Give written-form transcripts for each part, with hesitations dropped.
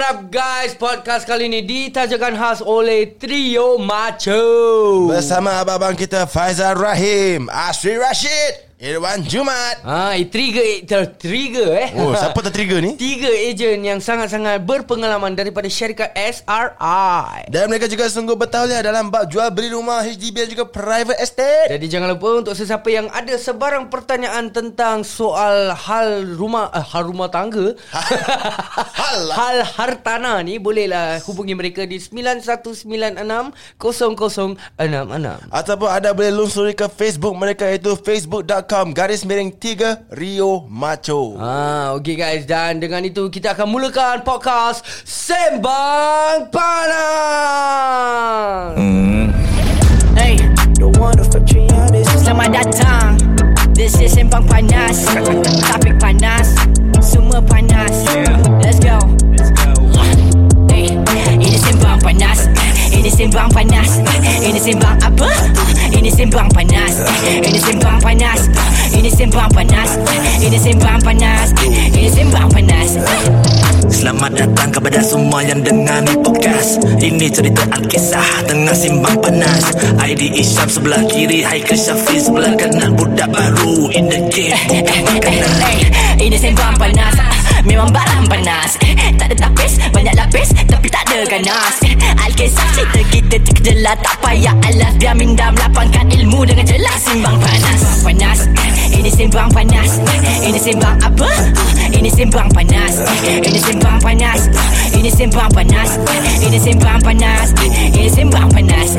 up guys? Podcast kali ini ditajakan khas oleh Trio Macho bersama abang-abang kita Faizal Rahim, Asri Rashid, Irwan Jumat. Trigger Oh, siapa tertrigger ni? 3 ejen yang sangat-sangat berpengalaman daripada syarikat SRI. Dan mereka juga sungguh bertauliah dalam bab jual beli rumah HDB dan juga private estate. Jadi jangan lupa untuk sesiapa yang ada sebarang pertanyaan tentang soal hal rumah tangga, hal hartana ni, bolehlah hubungi mereka di 9196 0066 ataupun anda boleh lungsuri ke Facebook mereka, iaitu facebook.com/3 Rio Macho. Okay guys, dan dengan itu kita akan mulakan podcast Sembang Panas. Hey, selamat datang. This is Sembang Panas. Topik panas, semua panas. Let's go. Hey, ini Sembang Panas. Ini Sembang Panas. Ini Sembang apa? Ini Sembang Panas. Ini Sembang Panas. Ini Sembang Panas. Ini Sembang Panas. Ini Sembang Panas. Selamat datang kepada semua yang dengar ni podcast. Ini cerita Alkisah tengah simbang panas. ID Isyam sebelah kiri, Haikal Syafiq sebelah kanan. Budak baru in the game. Ini Sembang Panas. Memang barang panas. Tak ada tapis, banyak lapis, tapi tak ada ganas. Alkisah cerita kita terkejelas, tak payah alas. Biar minda melapangkan ilmu dengan jelas. Simbang Panas. Panas. Ini Sembang Panas. Ini Sembang apa? Ini Sembang Panas. Ini Sembang Panas. Ini Sembang Panas. Ini Sembang Panas. Ini Sembang Panas.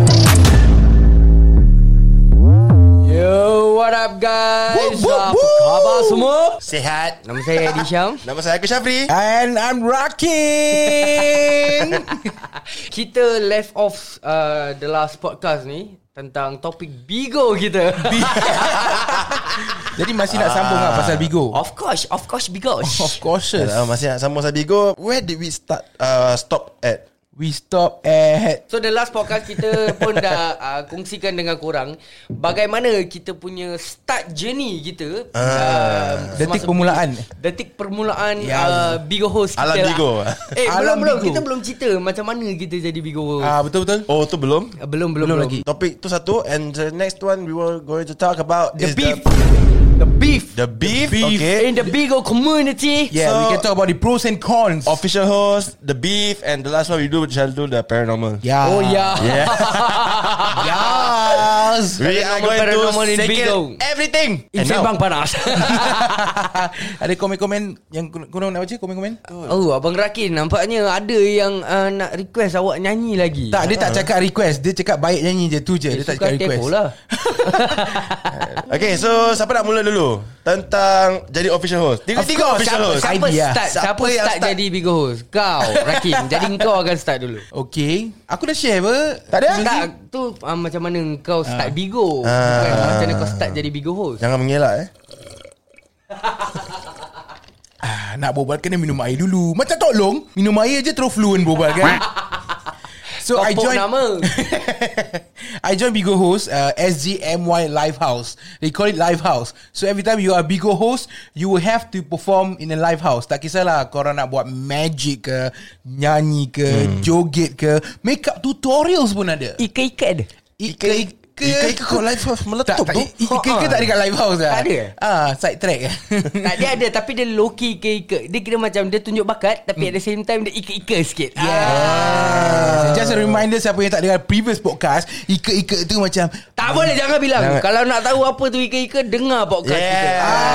Yo, what up guys? Apa khabar semua? Sihat. Nama saya Edi Syam. Nama saya Haikal Syafiq. And I'm rocking. Kita left off the last podcast ni tentang topik Bigo kita. Jadi masih nak sambung lah pasal Bigo. Of course Bigo. Of course. Masih nak sambung pasal Bigo. Where did we stop at? We stop at So the last podcast kita pun dah kongsikan dengan korang bagaimana kita punya start journey kita, detik permulaan. Detik permulaan Bigo host kita. Alam Bigo. Alam belum Bigo. kita belum cerita macam mana kita jadi Bigo host. Betul-betul. Oh, tu belum? Belum lagi. Topik tu satu. And the next one we were going to talk about The is beef. The beef. Okay. In the Bigo community. Yeah, So- we can talk about the pros and cons. Official host, the beef, and the last one we do shall do the paranormal. Yeah. Oh yeah. Yeah. Yes. We are going Paranormal in to Bigo. settle everything. In Sembang Panas. Ada komen-komen yang korang nak baca? Komen-komen? Oh, Abang Rakin, nampaknya ada yang nak request awak nyanyi lagi. Tak, dia tak cakap request. Dia cakap baik nyanyi je. Tu je. Dia tak cakap request. lah. Okay, so siapa nak mula dulu tentang jadi official host? Tiga official host. Siapa Idea. siapa yang start start? jadi Bigo host? Kau, Rakin. Jadi kau akan start dulu. Okay. Aku dah share apa? Tak ada? Tak, tu macam mana kau start Bigo. Bukan macam mana kau start jadi Bigo host. Jangan mengelak Nak berbual kena minum air dulu. Macam tolong minum air je terus fluent berbual kan. So Kau I pok joined nama. I joined Bigo host SGMY Live House. They call it Live House. So every time you are Bigo host, you will have to perform in a live house. Tak kisahlah korang nak buat magic ke, nyanyi ke, joget ke, makeup tutorials pun ada. Ika-ika ada. Ika-ika kau live house meletup tu. Ika-ika tak dekat live house lah. Tak ada? Side track. Tak, dia ada tapi dia low key ika-ika. Dia kira macam dia tunjuk bakat tapi at the same time dia ika-ika sikit. Just a reminder siapa yang tak dengar previous podcast, ika-ika tu macam Tak boleh, jangan bilang. Kalau nak tahu apa tu ika-ika, dengar podcast kita.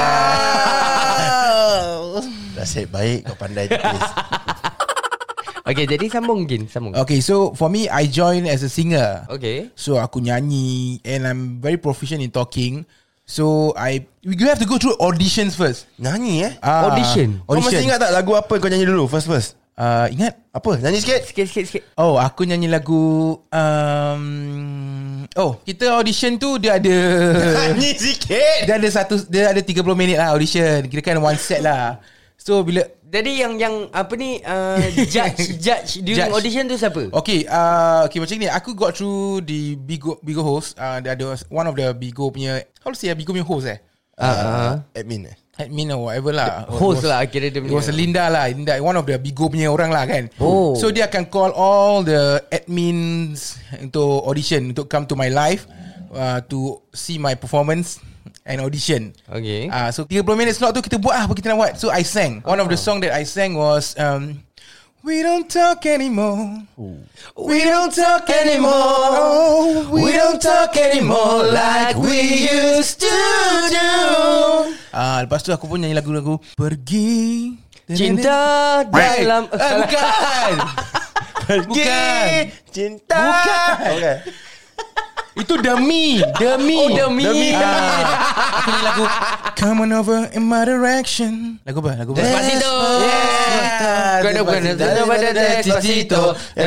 Nasib baik kau pandai tulis. Okay, jadi sambung. Okay, so for me, I joined as a singer. Okay. So aku nyanyi and I'm very proficient in talking. So we have to go through auditions first. Nyanyi Audition. Kau masih ingat tak lagu apa kau nyanyi dulu first? Ingat? Apa? Nyanyi sikit. Sikit. Oh, aku nyanyi lagu kita audition tu dia ada Nyanyi sikit. dia ada 30 minit lah audition. Kirakan one set lah. So bila Jadi yang apa ni judge during audition tu siapa? Okay, macam ni. Aku got through the Bigo host. Dia ada one of the Bigo punya, how to say Bigo punya host Admin admin or whatever lah. Host lah kira dia It was punya. Linda lah. Linda, one of the Bigo punya orang lah kan. Oh. So dia akan call all the admins untuk audition, untuk come to my live to see my performance and audition. Okay. So 30 minit slot tu kita buat apa kita nak buat. So I sang. One of the song that I sang was We don't talk anymore. We don't talk anymore. We don't talk anymore like we used to do. Lepas tu aku pun nyanyi lagu-lagu Pergi Cinta dalam bukan. Bukan. Cinta. Bukan. Okay. Itu Demi. Oh, Demi. Aku nyanyi lagu Come on over in my direction. Lagu apa? Lagu apa? Despacito. Bukan. Despacito.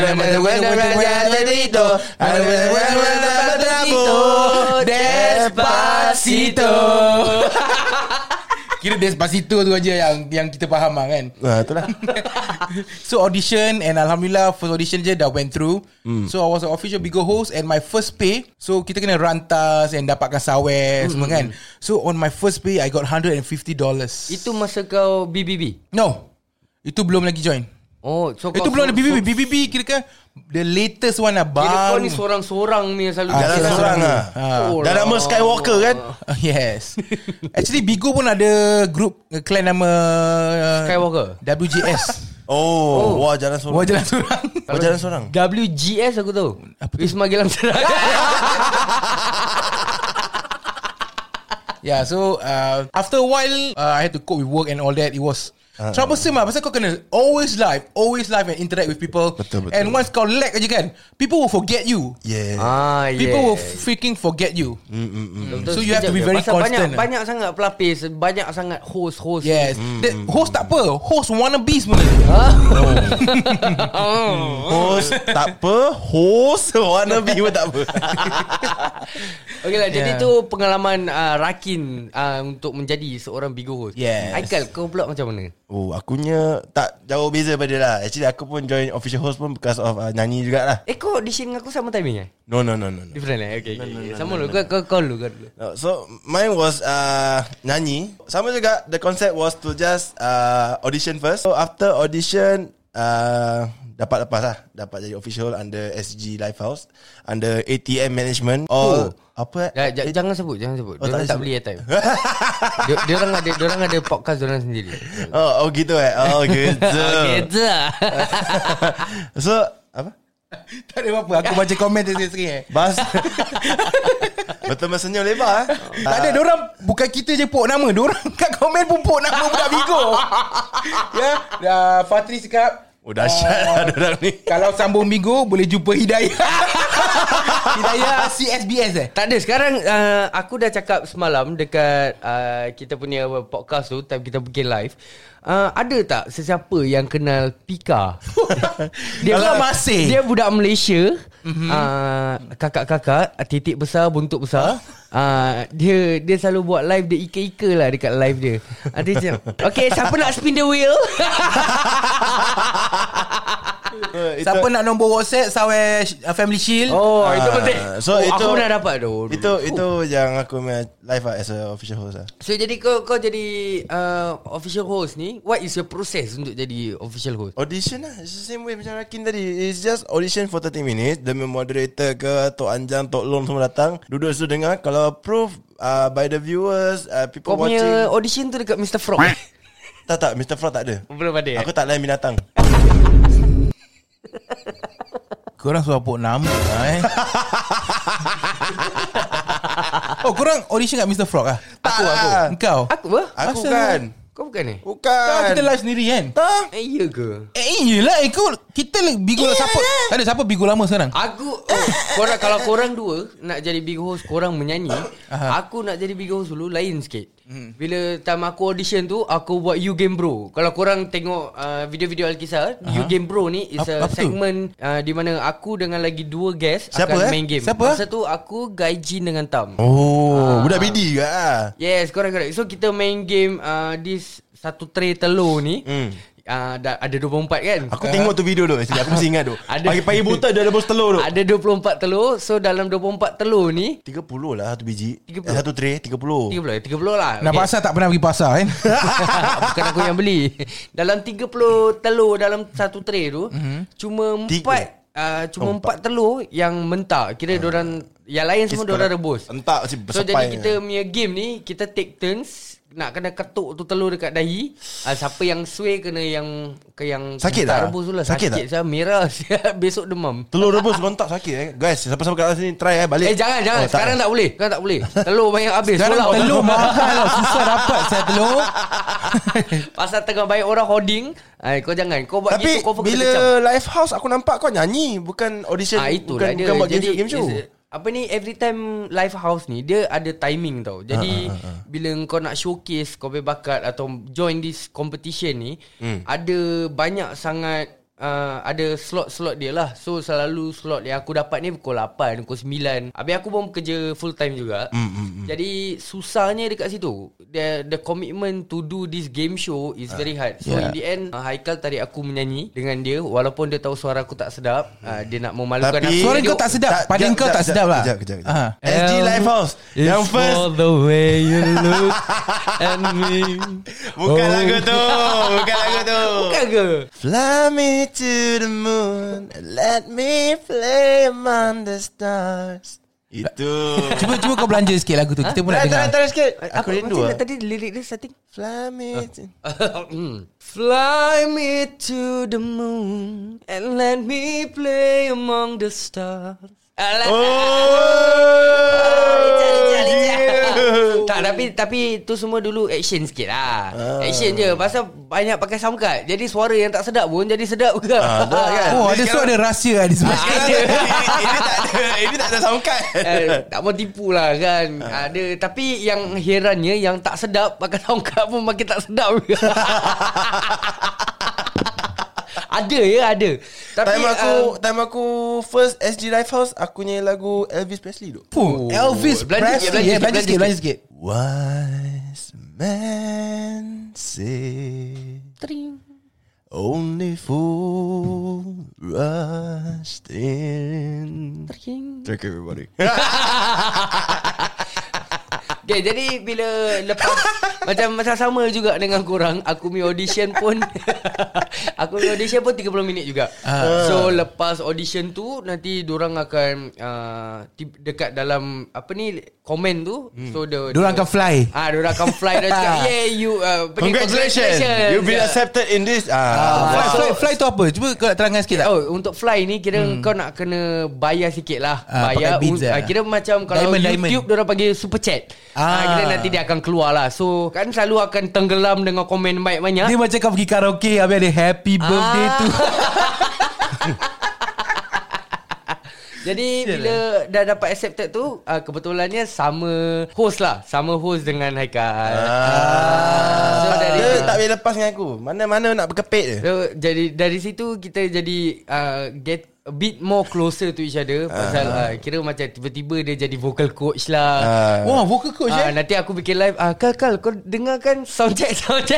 Despacito. Kira Despacito tu aja yang kita faham lah kan. Itulah. So audition, and Alhamdulillah first audition je dah went through. So I was an official Bigo host, and my first pay, so kita kena rantas and dapatkan sawer semua kan. So on my first pay I got $150. Itu masa kau BBB? No, itu belum lagi join. Oh, so Itu belum ada BBB. BBB kira kan the latest one lah. Kira kau ni sorang-sorang ni yang selalu Jalan seorang lah. Dah nama Skywalker kan. Yes. Actually Bigo pun ada group clan nama Skywalker. WJS. Wah jalan seorang. Wah jalan seorang. Wah jalan seorang. WGS aku tahu. Wisma Gilang Serai. Yeah, so after a while I had to cope with work and all that. It was troublesome lah. Pasal kau kena always live and interact with people. Betul. And once kau lag aja kan, people will forget you. Yeah. People will freaking forget you. So you have to be very Pasal constant. Banyak sangat pelapis, banyak sangat host. Yes. Host tak apa, host wannabe sebenarnya. Host tak apa. Host wannabe pun tak apa. Okay lah, jadi tu pengalaman Rakin untuk menjadi seorang Bigo host. Yes. Aikal, kau pula macam mana? Akunya tak jauh beza pada dia lah. Actually aku pun join official host pun because of nyanyi jugalah. Kau audition dengan aku sama timing No. Different Okay. Sama dulu. Kau dulu. So mine was nyanyi. Sama juga. The concept was to just audition first. So after audition dapat lepas lah. Dapat jadi official under SG Lifehouse, under ATM Management. Apa? Jangan sebut. Diorang tak tak beli airtime. Diorang ada podcast diorang sendiri. Gitu gitu. Gitu. So apa? Tak ada apa-apa. Aku baca komen sikit-sikit. Bas. Betul senyum lebar. Tak ada, diorang bukan kita je pok nama. Diorang kat komen pun pok nama budak Bigo. Ya, Fatri cakap Dahsyat lah diorang ni. kalau sambung Bigo boleh jumpa Hidayah. Hidayah CSBS Tak ada. Sekarang aku dah cakap semalam dekat kita punya podcast tu, time kita bikin live. Ada tak sesiapa yang kenal Pika? Kalau masih. Dia budak Malaysia. Kakak-kakak, titik besar, buntut besar. Dia selalu buat live. Dia ika-ika lah dekat live dia. Dia macam, okay, siapa nak spin the wheel? Siapa nak nombor WhatsApp Sawer Family Shield? Itu penting. So itu aku pernah dapat tu. Itu yang aku live as a official host lah. So jadi kau jadi official host ni, what is your process untuk jadi official host? Audition lah. It's the same way macam Rakin tadi. It's just audition for 30 minutes. Demi moderator ke Tok Anjang, Tok Long semua datang. Duduk situ dengar. Kalau approve by the viewers, people Kau watching. punya audition tu dekat Mr. Frog? Tak, Mr. Frog tak ada. Belum ada. Aku tak lain binatang. Korang suruh pok nama korang audition kat Mr. Frog lah? Aku. Engkau? Aku apa? Aku Asal kan. Kau bukan ni? Bukan. Kita live sendiri kan? Ya ke? Iyalah kita Bigo siapa? Tak ada siapa Bigo lama sekarang? Aku kalau korang dua nak jadi big host, korang menyanyi. Aku nak jadi big host dulu lain sikit. Bila time aku audition tu, aku buat You Game Bro. Kalau korang tengok video-video Alkisah, You Game Bro ni is a segment di mana aku dengan lagi dua guest akan main game. Siapa? Masa tu aku Gaijin dengan Tam. Budak BD ke? Yes, correct. So kita main game this satu tray telur ni ada 24 kan. Aku tengok tu video tu. Aku mesti ingat tu. Pagi-pagi buta dia ada telur tu. Ada 24 telur. So dalam 24 telur ni 30 lah satu biji. 30. Satu tray 30 lah. Nak pasar tak pernah pergi pasar kan. Bukan aku yang beli. Dalam 30 telur dalam satu tray tu, cuma 4 telur yang mentah. Kira diorang, yang lain semua diorang rebus. Entah So jadi kita punya game ni, kita take turns nak kena ketuk tu telur dekat dahi. Siapa yang sway kena yang sakit tak? rebus tu lah. Sakit tak? Saya merah. Besok demam. Telur rebus kontak sakit Guys, siapa-siapa kat sini try balik. Jangan. Sekarang tak boleh. Telur banyak habis. Sekarang telur mahal lah. Susah dapat saya telur. Pasal tengah banyak orang hoarding. Kau jangan. Kau buat tapi gitu kau bila live house aku nampak kau nyanyi, bukan audition, itulah bukan buat game show. Apa ni, every time live house ni dia ada timing tau. Jadi bila kau nak showcase kau punya bakat atau join this competition ni, ada banyak sangat ada slot-slot dia lah. So selalu slot yang aku dapat ni pukul 8, pukul 9. Habis aku pun kerja full time juga. Jadi susahnya dekat situ. The commitment to do this game show is very hard. So in the end Haikal tarik aku menyanyi dengan dia. Walaupun dia tahu suara aku tak sedap. Dia nak memalukan aku. Suara kau tak sedap. Pada kau tak sedap lah. Kejap. SG Live House yang first. For the way you look at me. Bukan lagu tu. Bukan ke? Fly me to the moon, let me play among the stars. Itu. Cuba kau belanja sikit lagu tu. Kita pun nak dengar. Try sikit. Aku rindu lah. Tadi lirik dia starting. Fly me to... Fly me to the moon and let me play among the stars. Tak, tapi tu semua dulu action sikit lah. Action je. Pasal banyak pakai sound card. Jadi suara yang tak sedap pun jadi sedap juga. Oh, ada suara ada rahsia di sebelah. Ini tak ada sound card. Tak mau tipu lah kan. Ada. Tapi yang herannya, yang tak sedap pakai sound card pun makin tak sedap juga. Ada. Tapi time aku first SG Live House, aku nyanyi lagu Elvis Presley tu. Elvis Presley. Belanja sikit. Wise man say only fool rushed in. Thank you everybody. Okay, jadi bila lepas macam sama juga dengan korang, aku punya audition pun 30 minit juga. So lepas audition tu nanti dorang akan dekat dalam apa ni komen tu. So dorang akan fly. Dorang akan fly dan cakap, yeah, you congratulations. You've been accepted in this. Fly tu apa? Cuba kau nak terangkan sikit tak? Untuk fly ni kira kau nak kena bayar sikit lah. Bayar kira macam kalau YouTube dorang panggil super chat. Kira nanti dia akan keluar lah. So kan selalu akan tenggelam dengan komen banyak-banyak. Dia macam kau pergi karaoke, habis ada happy birthday tu. Jadi bila dah dapat accepted tu, kebetulannya sama host dengan Haikal. So dia tak boleh lepas dengan aku. Mana-mana nak berkepit je. So, jadi dari situ kita jadi get a bit more closer to each other. Pasal kira macam tiba-tiba dia jadi vocal coach lah. Wah, vocal coach nanti aku bikin live. Kal kau dengarkan sound check.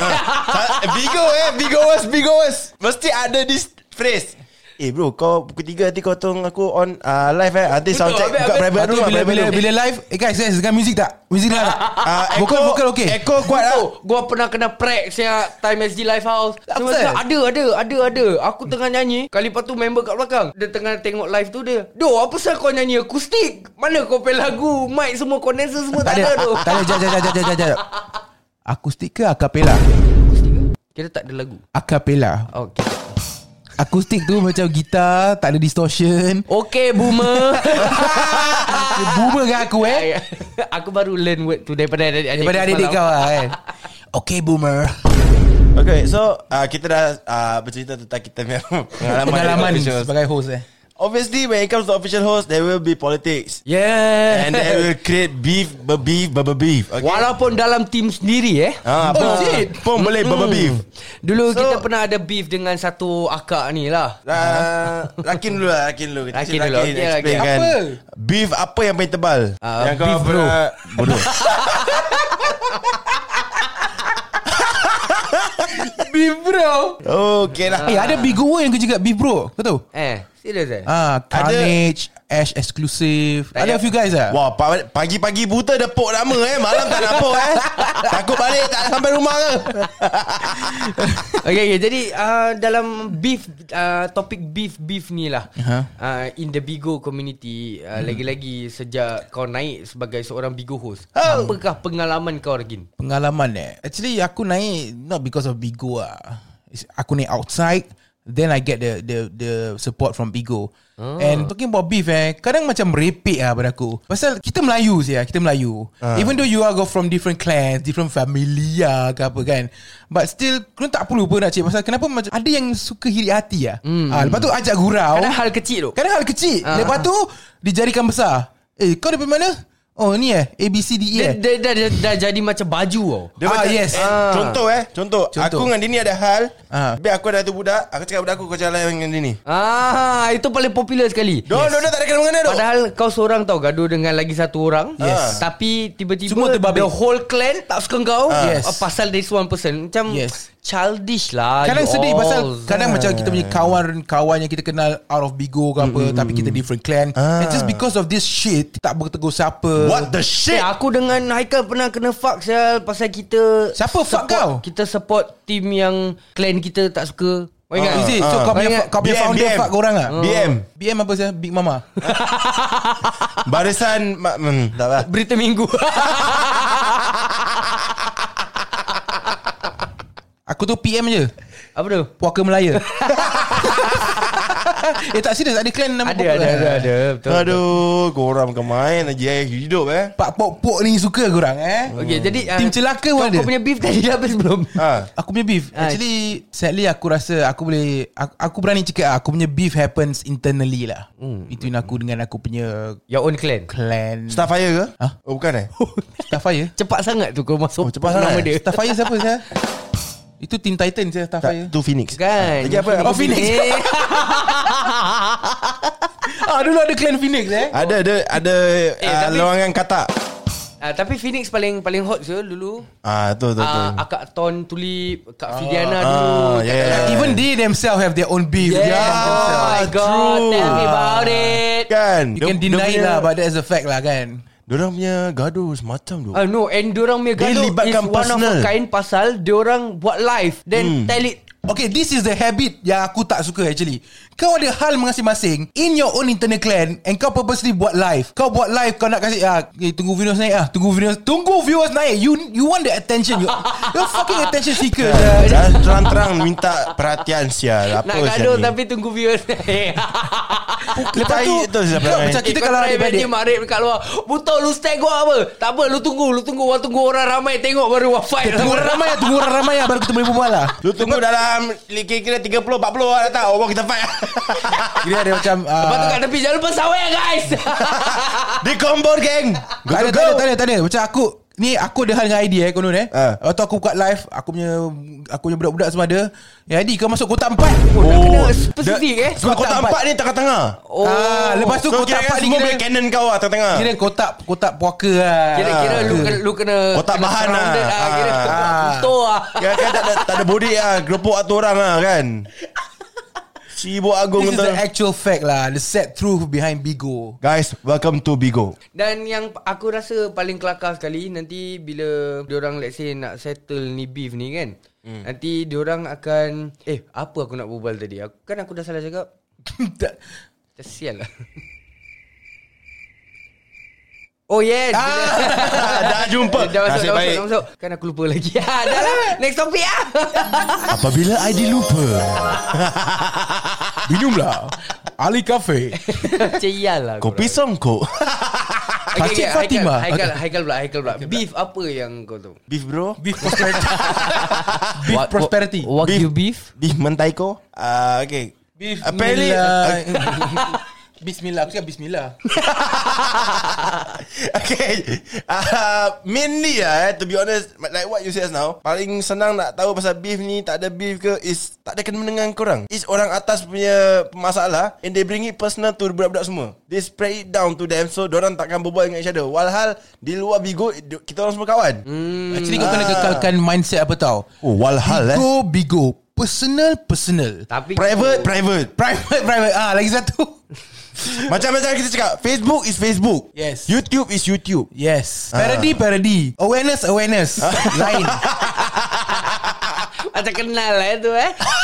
Bigo was. Mesti ada this phrase. Bro, kau pukul 3 nanti kau tolong aku on live nanti sound check buka private room. Bila live guys dengan music tak? Music tak? Vocal okay. Echo kuat lah. Gua pernah kena prank saya time SG Live House. Ada. Aku tengah nyanyi, kali lepas tu member kat belakang dia tengah tengok live tu, dia, "Doh, apa pasal kau nyanyi akustik? Mana kau play lagu? Mic semua condenser semua tak ada tu." Tak ada, jap. Akustik ke acapella? Kira tak ada lagu. Acapella. Okay. Akustik tu macam gitar, tak ada distortion. Okay, boomer. Boomer kan aku Aku baru learn word tu daripada adik kau lah kan. Okay, boomer. Okay, so kita dah bercerita tentang kita punya pengalaman sebagai host Obviously, when it comes to official host, there will be politics. Yeah. And they will create beef. Okay? Walaupun dalam team sendiri pun boleh beef. Dulu kita pernah ada beef dengan satu akak ni lah. Lakin dulu. Lakin dulu. Explain kan. Apa? Beef apa yang paling tebal? Yang beef bro. Bodoh. Beef bro. Okay lah. Ada Bigo yang kerja kat Beef bro. Kau tahu? Serius Carnage, Ash Exclusive. Ada a few guys lah. Wah, pagi-pagi buta dah pok nama malam tak nak pok Takut balik tak sampai rumah ke. Okay, jadi dalam beef, topik beef ni lah, in the Bigo community, lagi-lagi sejak kau naik sebagai seorang Bigo host, apakah pengalaman kau, Regin? Pengalaman actually aku naik not because of Bigo lah. Aku naik outside, then I get the support from Bigo. And talking about beef kadang macam merepek lah pada aku. Pasal kita Melayu kita Melayu. Even though you all go from different clans, different family ke apa kan, but still kau tak perlu pun nak cik. Pasal kenapa macam ada yang suka hirit hati lah. Lepas tu ajak gurau. Kadang hal kecil tu. Lepas tu dijadikan besar. Kau daripada mana? Oh ni ABCDE Dah jadi macam baju tau. Dia macam, yes. Contoh. Aku dengan Dini ada hal. Biar aku ada tu budak. Aku cakap budak aku, kau jalan dengan Dini. Itu paling popular sekali. Dia tak ada kena-mengena tu. Padahal kau seorang tau gaduh dengan lagi satu orang. Tapi tiba-tiba semua terbabit. the whole clan tak suka kau. Pasal this one person. Macam childish lah. Kadang sedih pasal kadang macam kita punya kawan yang kita kenal out of Bigo ke apa, tapi kita different clan. And just because of this shit, tak bertegur siapa. What the shit? Aku dengan Haikal pernah kena fuck pasal kita Siapa fuck kau? Kita support team yang clan kita tak suka. Kau ingat? Is it? So kau punya founder BM. fuck korang lah. BM apa sih? Big Mama. Barisan tak apa. Berita Minggu. Aku tu PM je. Apa tu? Puaka Melaya. Tak serius, ada clan nama Ada betul. Aduh, korang bukan main aja hidup Pak Pok ni suka korang Okay, jadi Tim celaka pun ada. Kau punya beef tadi dah habis belum? Aku punya beef actually sadly aku rasa aku berani cakap aku punya beef happens internally lah. Between aku dengan aku punya Your own clan. Starfire ke? Oh bukan Starfire. Cepat sangat tu kau masuk cepat nama sangat. dia. Starfire siapa saya? Itu Teen Titan saya Starfire. Tu Phoenix Kan. Lagi apa? Oh Phoenix. Dulu ada clan Phoenix Ada tapi- lawangan kata. Tapi Phoenix paling hot je dulu. Tu. Akak Ton Tulip, Kak Fidiana dulu. Even they themselves have their own beef. Oh my god, tell me about it. Kan You can deny lah, but that's a fact lah kan. Diorang punya gaduh semacam tu. No, and diorang punya Dia gaduh is libatkan one of a personal. kind pasal diorang buat live then tell it. Okay, this is the habit yang aku tak suka actually. Kau ada hal masing-masing in your own internal clan and kau purposely buat live. Kau buat live, kau nak kasih tunggu viewers naik Tunggu viewers naik. You want the attention. You're fucking attention seeker. Dan terang-terang minta perhatian sial. Apa Nak gaduh sial ni? tapi tunggu viewers. Lepas tu macam kita kalau adik-adik Mak Rip dekat luar, "Buto lu stay gua apa? Tak apa, lu tunggu orang ramai tengok baru fight." Tunggu orang ramai baru kita boleh berbual lah. Lu tunggu dalam kira-kira 30-40 orang datang. Oh kita fight. Kira ada macam Lepas tu kat tepi, jangan lupa sawai guys. Di combo geng. Tak ada. Macam aku ada hal dengan idea konon Waktu aku buka live, aku punya budak-budak semua ada. Jadi kau masuk kotak 4. Kena spesifik Sebab kotak 4 ni tengah-tengah. Lepas tu So kotak 4 ni semua boleh cannon kau lah tengah-tengah. kira kotak puaka lah. Kira-kira lu kena Kotak kena bahan lah. surrounded Kira betul lah. Kan tak ada body lah. Geropok atur orang lah kan. Sibuk agung This is the betul. actual fact lah, the sad truth behind Bigo. Guys, welcome to Bigo. Dan yang aku rasa paling kelakar sekali, nanti bila diorang let's say nak settle ni beef ni kan, nanti diorang akan apa aku nak berbual tadi? Aku dah salah cakap. Sial lah. Oh yes. Dah jumpa. Dah Nasib baik. masuk. Kan aku lupa lagi. Dah lah. Next topik lah. Apabila ID lupa, Minumlah Ali Cafe. Cial lah. kopi songkok. Pakcik Fatimah. Haikal pula. Beef apa yang kau tahu? Beef bro. Beef prosperity. Beef prosperity. Wagyu beef. Beef mentaiko. Okay. Beef Apparently Bismillah. Aku cakap bismillah. Okay. Mainly to be honest, like what you said now, paling senang nak tahu pasal beef ni, tak ada beef ke, is tak ada kena dengan korang. Is orang atas punya masalah, and they bring it personal to budak-budak semua. They spread it down to them, so dorang takkan berbual dengan each other. Walhal di luar Bigo, kita orang semua kawan. Actually kau kena kekalkan mindset apa tau. Oh, walhal Bigo. Personal. Tapi Private. Lagi satu. Macam kita cakap, Facebook is Facebook. Yes. YouTube is YouTube. Yes. Parody. Awareness. Lain. macam kenal lah tu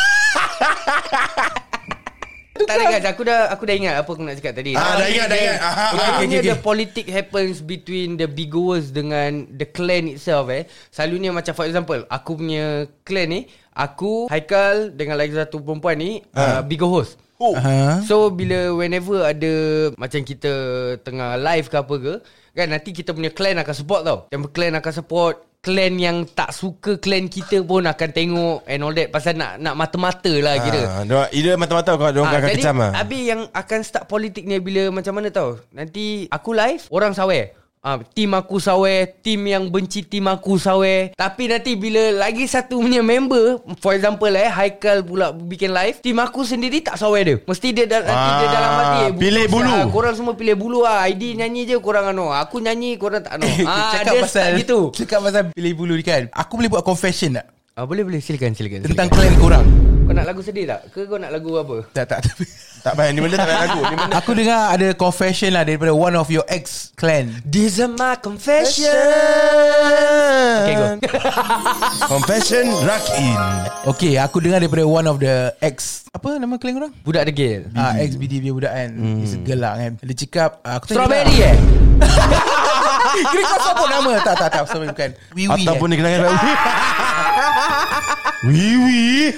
Tak ada guys, aku dah ingat apa aku nak cakap tadi. Dah ingat. Selalunya the politics happens between the Bigoers dengan the clan itself Selalunya macam for example, aku punya clan ni, aku, Haikal dengan lagi satu perempuan ni Bigo host. So whenever ada macam kita tengah live ke apa ke kan, nanti kita punya clan akan support tau. Yang clan akan support, clan yang tak suka clan kita pun akan tengok and all that, pasal nak mata-mata lah kira. Ida mata-mata kau orang akan jadi, kecam lah. Habis yang akan start politik ni bila macam mana tau, nanti aku live, orang sawer. Tim aku sawer, tim yang benci tim aku sawer. Tapi nanti bila lagi satu punya member, for example Haikal pula bikin live, tim aku sendiri tak sawer dia. Mesti dia dalam hati pilih bulu. Korang semua pilih bulu ID nyanyi je korang aku nyanyi korang tak Cakap dia pasal gitu. Cakap pasal pilih bulu ni kan, aku boleh buat confession tak? Boleh silakan. Tentang clan korang. Kau nak lagu sedih tak? Ke kau nak lagu apa? Tak payah, ni benda tak payah lagu. Aku dengar ada confession lah daripada one of your ex clan. These are my confession. Okay, go. Confession Rakin. Okay, aku dengar daripada one of the ex, apa nama clan korang? Budak degil. Ex BD punya budak kan. He's a girl lah kan. Dia cakap aku Strawberry Kira kau sebut nama. Tak Strawberry bukan. Wiwi ataupun dia kenal dengan Wiwi.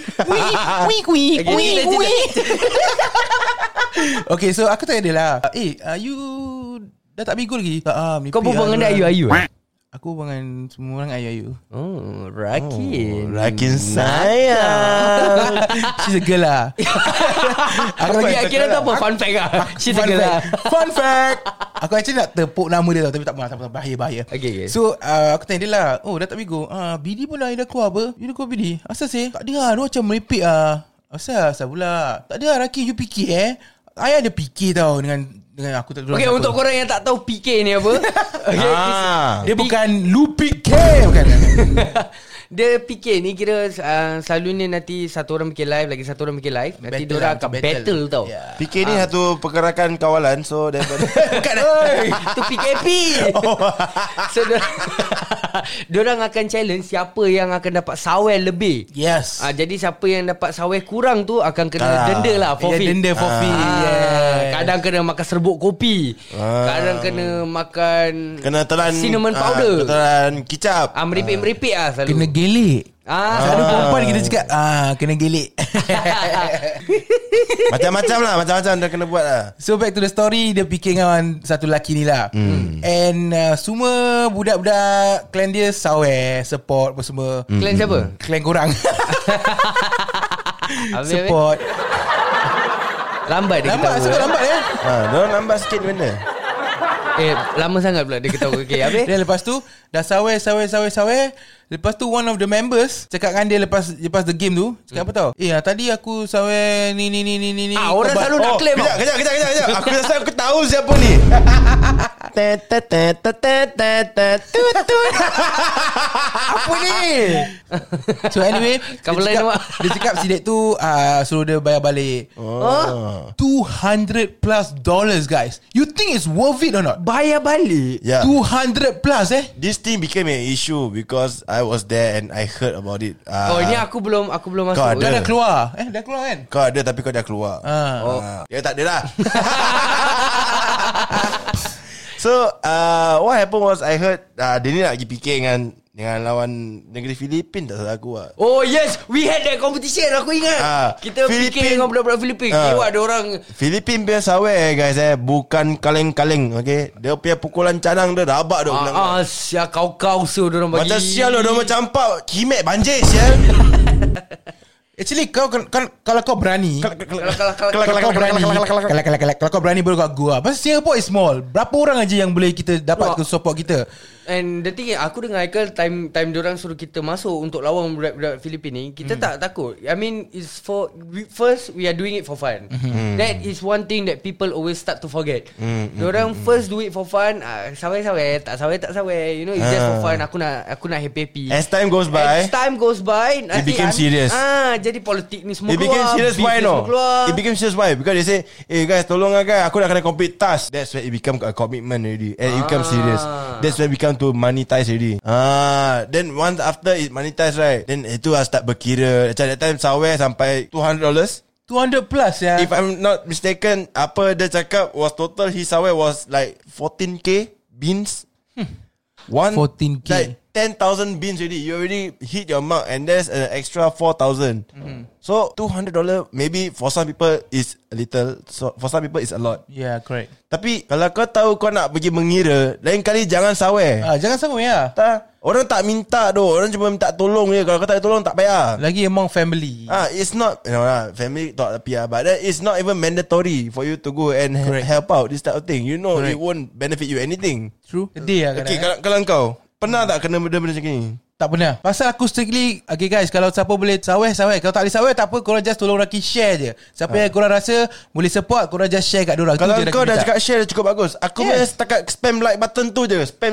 Okay, so aku tanya dia lah, you dah tak Bigo lagi? Tak. Kau berbual dengan Ayu? Aku dengan semua orang ayu-ayu. Oh, Rakin sayang. She's a girl lah. Aku lagi akhirnya tu apa? Fun fact lah. She's a girl lah. Fun fact. Aku actually nak tepuk nama dia tau, tapi tak apa, bahaya. Okay. So aku tanya dia lah, dah tak Bigo. BD pun dah keluar apa? You dah keluar BD? Asal sih? Tak ada lah, dia macam merepek lah. Asal pula? Tak ada lah, Rakin, you fikir I ada fikir tau dengan aku tak tahu. Okay, untuk korang yang tak tahu PK ni apa, dia bukan lu PK, bukan. Dia PK ni kira selalunya nanti satu orang bikin live, lagi satu orang bikin live, nanti diorang akan battle tau. PK ni satu pergerakan kawalan. So daripada bukan itu PKP. So diorang akan challenge siapa yang akan dapat sawer lebih. Yes. Jadi siapa yang dapat sawer kurang tu akan kena denda lah, forfeit. Denda forfeit. Kadang kena makan serbuk kopi, kadang kena makan, kena telan cinnamon powder, telan kicap, meripik-meripik lah selalu. Kena gelik. Ada perempuan kita cakap kena gelik. Macam-macam dah kena buat lah. So back to the story, dia fikir dengan satu lelaki ni lah. And semua budak-budak clan dia sawer, support apa semua. Clan siapa? Clan korang. Support. Lambat dia ketawa. Lambat ya. Dia lambat sikit benda. Lama sangat pula dia ketawa. Okay, habis? Dia lepas tu dah sawer. Lepas tu one of the members cakap dengan dia lepas the game tu, cakap apa tau? Tadi aku sawer ni. Orang selalu nak claim. Kejap. Aku rasa aku tahu siapa ni. Apa ni? So anyway, dia cakap si dek tu suruh dia bayar balik $200 plus, guys. You think it's worth it or not? Bayar balik? Yeah. $200 plus This thing became an issue because I was there and I heard about it. Ini aku belum masuk. Kau ada. Dah keluar. Dah keluar kan? Kau ada tapi kau dah keluar. Ya tak ada lah. So what happened was I heard dia ni nak pergi PK dengan lawan negeri Filipin, tak salah aku lah. Oh yes, we had that competition, aku ingat. Kita PK dengan budak-budak Filipin. Tengok ada orang Filipin punya sawer guys, bukan kaleng-kaleng. Okay, dia punya pukulan canang dia rabak dia. Sial kau so dia orang bagi. Macam sial dia orang campak kimek banjir sial. Actually kalau kau berani, kalau kau berani baru kat gua. Pasal Singapore is small. Berapa orang aja yang boleh kita dapat ke support kita? And the thing, aku dengar Haikal time diorang suruh kita masuk untuk lawan budak-budak Filipin ni, kita tak takut. I mean, it's first we are doing it for fun. That is one thing that people always start to forget. Diorang first do it for fun. Sawai-sawai, tak sawai. You know, it's just for fun. Aku nak happy-happy. As time goes by, it became serious. Jadi politik ni semua It became serious. Why no? It became serious. Why? Because they say, guys, tolong guys, aku nak kena complete task. That's when it become a commitment already, and it become serious. That's when it become to monetize already. Then once after it monetize, right, then itu start berkira. Macam that time Sawai sampai $200. 200 plus ya. If I'm not mistaken, apa dia cakap was total his Sawai was like 14k beans. 14K. Like 10,000 beans already. You already hit your mark, and there's an extra 4,000. So $200 maybe for some people is a little, so for some people is a lot. Yeah, correct. Tapi kalau kau tahu kau nak pergi mengira, lain kali jangan Sawai. Jangan sama ya. Orang tak minta doh, orang cuma minta tolong je. Kalau kau tak tolong tak payah. Lagi among family. It's not, family tak payah, but that is not even mandatory for you to go and help out this type of thing. You know, it won't benefit you anything. True. Sedih lah. Okay, kalau kau pernah tak kena benda-benda macam ni? Tak pernah. Pasal aku strictly, okay guys, kalau siapa boleh Sawai. Kalau tak boleh Sawai, tak apa, korang just tolong Raki share je. Siapa yang korang rasa boleh support, korang just share kat diorang. Kalau kau dah cakap share, cukup bagus. Aku punya setakat spam like button tu je. Spam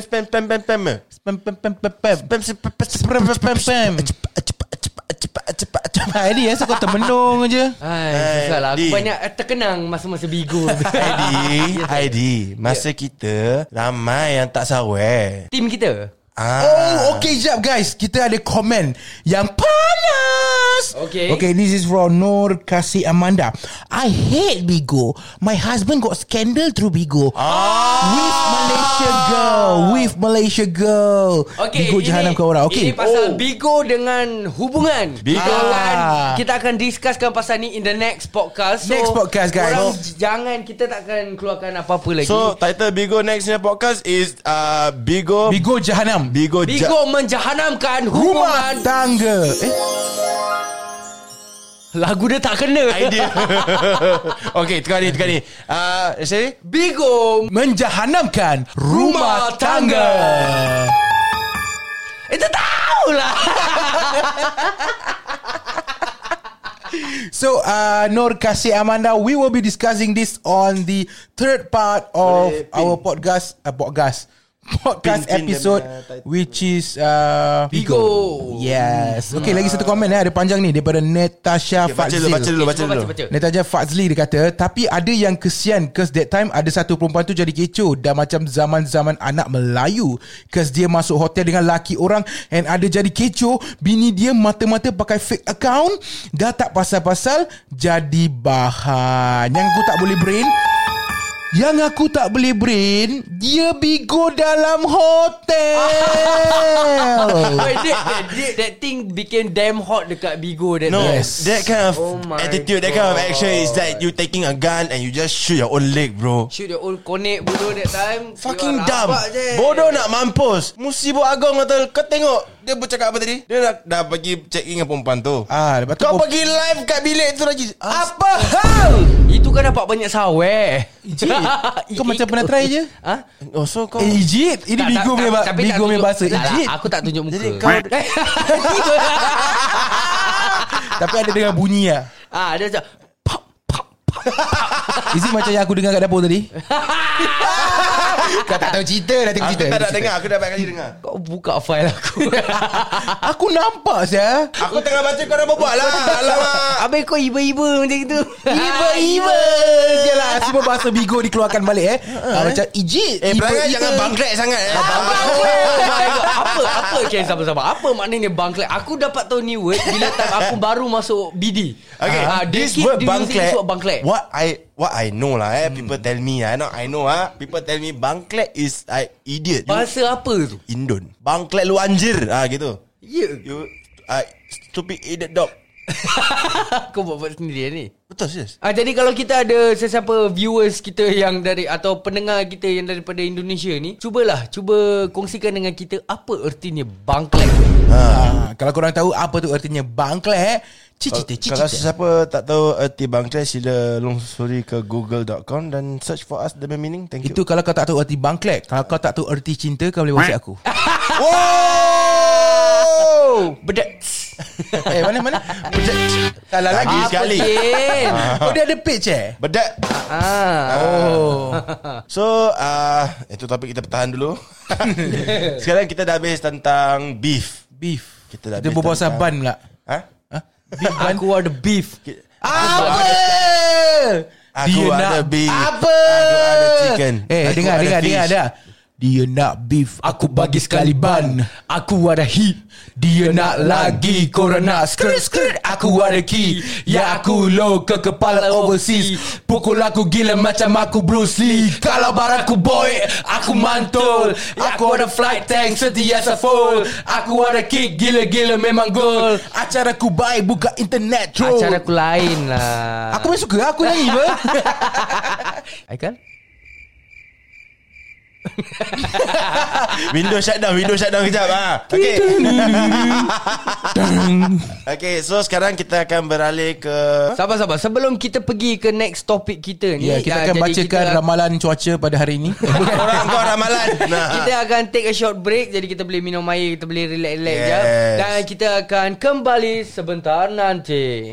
Ini kau termenung je. Susah lah. Aku banyak terkenang masa-masa Bigo. Heidi, masa kita ramai yang tak Sawai. Tim kita. Okay, jap guys, kita ada komen yang panas. Okay, this is from Nur Kasih Amanda. I hate Bigo. My husband got scandal through Bigo. With Malaysia girl. Okay, Bigo jahanam ke orang. Okay, ini pasal Bigo dengan hubungan. Kita akan discusskan pasal ni in the next podcast. Next podcast, guys. Jangan, kita takkan keluarkan apa-apa lagi. So title Bigo next podcast is Bigo jahanam. Bigo menjahanamkan rumah tangga. Lagu dia tak kena. Idea. Okay, tukar ni. Sorry? Bigo menjahanamkan rumah tangga. Itu tahulah. So Nur Kasih Amanda, we will be discussing this on the third part of our podcast episode, which is Bigo. Yes. Okay, lagi satu komen ada panjang ni daripada Natasha Fazli. Baca dulu. Natasha Fazli dia kata, tapi ada yang kesian cause that time ada satu perempuan tu jadi kecoh, dah macam zaman-zaman anak Melayu, cause dia masuk hotel dengan laki orang and ada jadi kecoh, bini dia mata-mata pakai fake account, dah tak pasal-pasal jadi bahan. Yang aku tak boleh brain, dia Bigo dalam hotel. That thing became damn hot dekat Bigo. That kind of attitude, that kind of action is that you taking a gun and you just shoot your own leg, bro. Shoot your own konek bodoh that time. Fucking dumb. Bodoh nak mampus. Musibah agong kata, kau tengok dia bercakap apa tadi? Dia dah pergi check in dengan perempuan tu. Kau pergi live kat bilik tu lagi. Apa hal? Itu kan dapat banyak Sawai. Kau macam pernah try je? So kau Ijit. Ini Bigo punya bahasa. Ijit. Aku tak tunjuk muka. Jadi kau tapi ada dengar bunyi lah. Dia macam Is it macam yang aku dengar kat dapur tadi? Kau tak tahu cerita. Dah tengok cerita. Aku tak nak dengar. Aku dah banyak kali dengar. Kau buka file aku. Aku nampak saya. Aku tengah baca kau dah berbual lah. Alamak. Habis kau iba-iba macam itu. Iba-iba je lah. Semua bahasa Bigo dikeluarkan balik macam ijit. Perangai jangan bangklek sangat. Apa okay, sama-sama. Apa maknanya bangklek? Aku dapat tahu ni word bila time aku baru masuk BD. Okay, this word bangklek. What I know lah people tell me people tell me bangklek is like idiot. Bahasa apa tu? Indon. Bangklek lu anjir gitu. Yeah. You stupid idiot dog. Kau buat sendiri ni. Betul serius. Jadi kalau kita ada sesiapa viewers kita yang dari atau pendengar kita yang daripada Indonesia ni, cuba kongsikan dengan kita apa ertinya bangklek. Kalau korang tahu apa tu artinya bangklek, Kalau siapa tak tahu erti bangkai, sila lungsuri ke google.com dan search for us the meaning. Thank you. Itu kalau kau tak tahu erti bangklek. Kalau kau tak tahu erti cinta, kau boleh WhatsApp aku. Wow. Bedak. Mana? Salah lagi sekali. Oh, dia ada page Bedak. So itu topik kita pertahan dulu. Sekarang kita dah habis tentang beef. Kita berbual pasal ban pula. Aku ada beef. Aku ada beef. Apa? Aku ada chicken. Dengar dah. Dia nak beef, aku bagi sekali ban. Aku ada heat, dia nak lagi. Korang nak skirt, aku ada key. Ya aku low ke kepala overseas. Pukul aku gila macam aku Bruce Lee. Kalau bar aku boy, aku mantul. Aku ada flight tank sentiasa full. Aku ada kick, gila-gila memang goal. Acara aku baik, buka internet troll. Acara aku lain lah. Aku pun suka, aku nyanyi apa? Aikal? Window shutdown kejap. Okay. Okay, so sekarang kita akan beralih ke Sabar. Sebelum kita pergi ke next topik kita ni, kita akan bacakan ramalan cuaca pada hari ini. Orang kau ramalan. Kita akan take a short break. Jadi kita boleh minum air, kita boleh relax-relax je. Dan kita akan kembali sebentar nanti.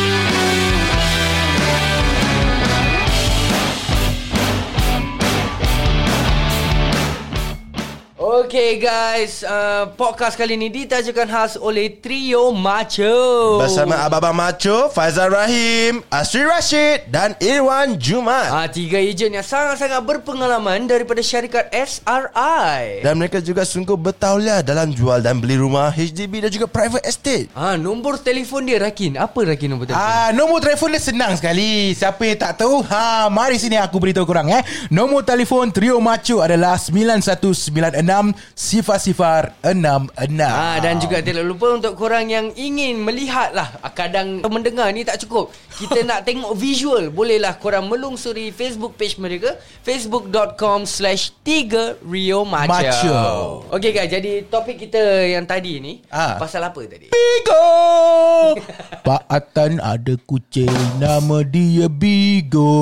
Okay guys, podcast kali ni ditajakan khas oleh Trio Macho bersama Abang Macho, Faizal Rahim, Asri Rashid dan Irwan Jumat. Tiga ejen yang sangat-sangat berpengalaman daripada syarikat SRI. Dan mereka juga sungguh bertauliah dalam jual dan beli rumah, HDB dan juga private estate. Nombor telefon dia Rakin. Apa Rakin nombor telefon? Nombor telefon dia senang sekali. Siapa yang tak tahu, mari sini aku beritahu korang. Nombor telefon Trio Macho adalah 9196 006. Dan juga tidak lupa untuk korang yang ingin melihat lah, kadang mendengar ni tak cukup, kita nak tengok visual, bolehlah korang melungsuri Facebook page mereka, facebook.com/3Rio Macho. Okay guys, jadi topik kita yang tadi ni pasal apa tadi? Bigo. Pak Atan ada kucing, nama dia Bigo.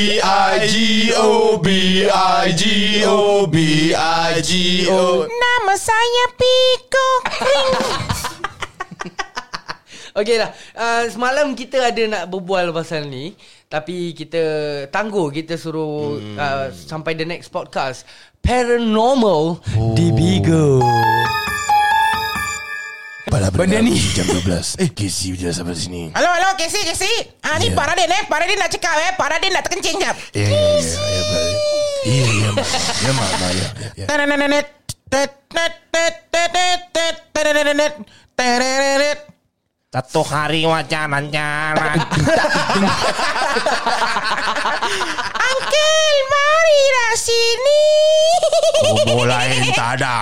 Bigo. Nama saya Pico. Okey lah, semalam kita ada nak berbual pasal ni, tapi kita tangguh, kita suruh sampai the next podcast. Paranormal di Bigo. Benda ni jam 12. Casey dia sampai sini. Halo Casey. Ni Pak Radin nak cakap Pak Radin nak terkencing jap. Ya. Satu hari wawancara. Uncle, marilah sini. Bolain tak ada.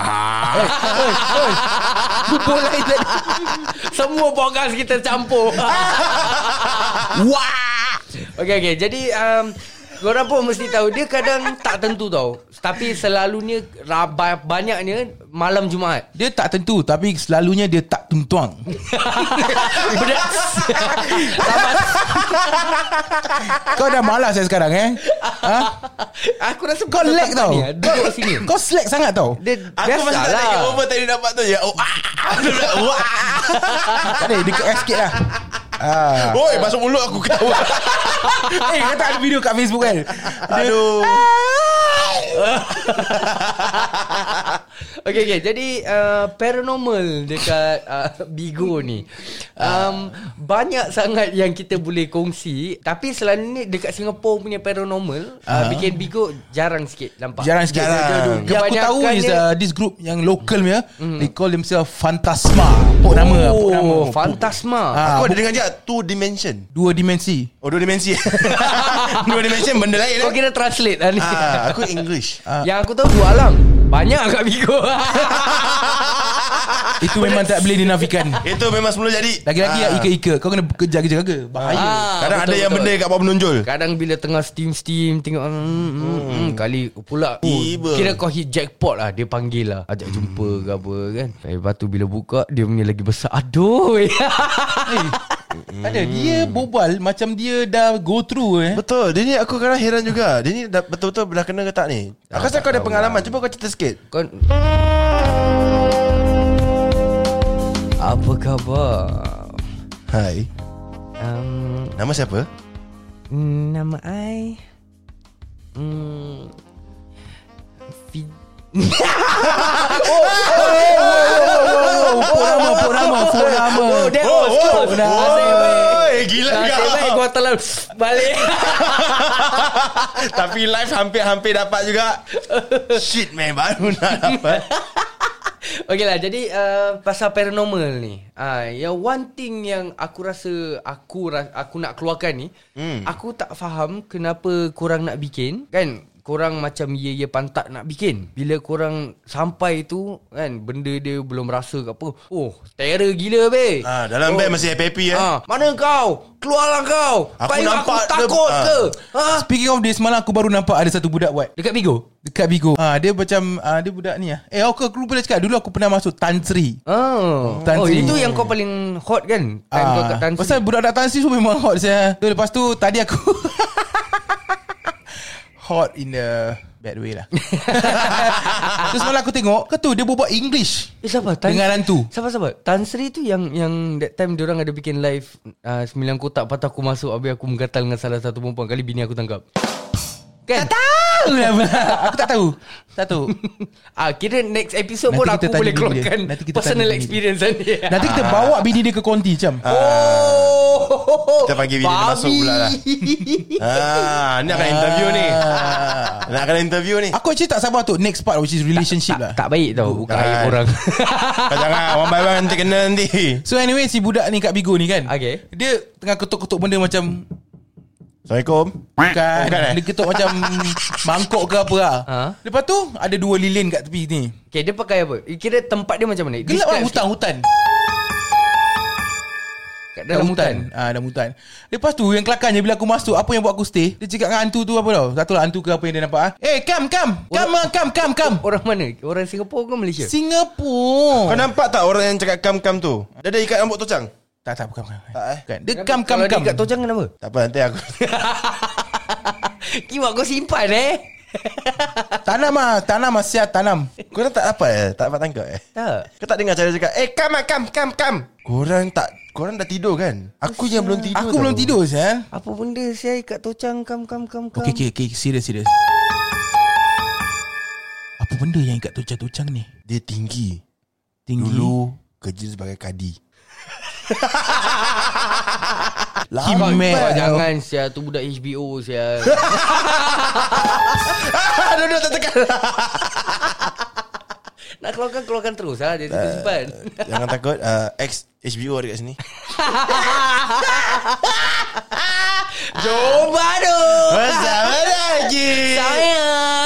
Bolain tak ada. Semua podcast kita campur. Wah. Okay. Jadi korang pun mesti tahu, dia kadang tak tentu tau, tapi selalunya banyaknya malam Jumaat. Dia tak tentu, tapi selalunya dia tak tuntuang. Kau dah malas sekarang Aku rasa kau lag tau. Duduk sini. Kau slack sangat tau. Aku masih tak ada over tadi dapat tu je. Tadi dekat sikit lah. Oi, masuk mulut aku ketawa. Kau tak ada video kat Facebook kan? Aduh. Okay. Jadi paranormal dekat Bigo ni, banyak sangat yang kita boleh kongsi. Tapi selalunya dekat Singapore punya paranormal, bikin Bigo jarang sikit nampak. Jarang. Yang aku tahu is this group yang local punya, they call themselves Fantasma. Pok nama. Fantasma. Aku ada dengar je 2 dimension. 2 dimensi. Oh, 2 dimensi. 2 dimension benda lain. Kau kira translate lah ni. Aku English. Yang aku tahu 2 alam. Banyak kat Bigo. Itu memang tak boleh dinafikan. Itu memang semula jadi. Lagi-lagi ika-ika. Kau kena jaga-jaga. Bahaya. Kadang ada yang benda kat bawah menonjol. Kadang bila tengah steam tengok kali pula kira kau hit jackpot lah. Dia panggil lah, ajak jumpa ke apa kan. Lepas tu bila buka, dia punya lagi besar. Aduh. Ada dia bobal macam dia dah go through Betul. Dia ni aku kadang heran juga. Dia ni dah betul-betul dah kena ke tak ni? Aku rasa kau ada pengalaman. Cuba kau cerita sikit. Apa khabar? Hai. Nama siapa? Nama I Pok nama. Gila Nasib kau. baik gua telan balik. Tapi live hampir dapat juga. Shit man, baru nak dapat. Okey lah, jadi pasal paranormal ni, yang one thing yang aku rasa aku nak keluarkan ni, aku tak faham kenapa korang nak bikin kan. Korang macam ya pantat nak bikin. Bila korang sampai tu kan, benda dia belum rasa ke apa. Oh, terror gila be. Dalam beg masih happy Mana kau? Keluarlah kau. Aku Baik nampak aku takut ke? Speaking of this, semalam aku baru nampak ada satu budak buat Dekat Bigo? dekat Bigo. Dia macam dia budak ni aku lupa dah cakap. Dulu aku pernah masuk Tan Sri. Tan Sri. Itu yang kau paling hot kan? Time kau kat Tan Sri. Pasal budak-budak Tan Sri tu memang hot saya. Lepas tu tadi aku hot in the bad way lah. Terus malam aku tengok tu dia berbual English Siapa? dengan hantu. Sabar. Tan Sri tu yang that time diorang ada bikin live 9 kotak. Lepas tu aku masuk, habis aku menggatal dengan salah satu perempuan. Kali bini aku tangkap. Kan? Tak tahu lah. Aku tak tahu. Kira next episode Nanti pun kita aku tanya boleh bini keluarkan dia. Nanti kita personal tanya bini experience dia. Nanti kita bawa bini dia ke konti macam. Kita panggil bini dia masuk pula lah. Ni akan interview ni. Nak kena interview ni. Aku actually tak sabar tu next part, which is relationship lah. Tak baik tau buka aib orang. Kau jangan one by one nanti kena nanti. So anyway, si budak ni kat Bigo ni kan, Okay. dia tengah ketuk-ketuk benda macam Assalamualaikum. Bukan, Bukan, dia ketuk macam mangkok ke apa lah. Lepas tu ada 2 lilin kat tepi ni. Okay, dia pakai apa? Kira tempat dia macam mana? Gelap lah, Describe hutan. Kat dalam hutan. Dalam hutan. Lepas tu yang kelakarnya bila aku masuk, apa yang buat aku stay, dia cakap dengan hantu tu apa tau. Tak tahu lah hantu ke apa yang dia nampak. Come. Orang mana? Orang Singapura ke Malaysia? Singapura. Kau nampak tak orang yang cakap kam tu? Dia ada ikat rambut tocang. Tak, bukan. Tak Bukan. Dia Kalau come. dia kat tojang kenapa? Tak apa, nanti aku. Kimak kau simpan Tanam siap tanam. Korang tak dapat tak dapat tangkap Tak. Kau tak dengar cara cakap kam. Korang dah tidur kan? Aku yang belum tidur. Aku belum tidur Sial. Apa benda saya kat tojang kam. Okay, serius. Apa benda yang kat tocang ni? Dia tinggi. Dulu kerja sebagai kadi. Kimek. Jangan sia, tu budak HBO sia. Duduk tak tekan. Nak keluarkan terus lah. Dia simpan. Jangan takut. Ex HBO ada kat sini. Jom baru. Bersama lagi. Sayang.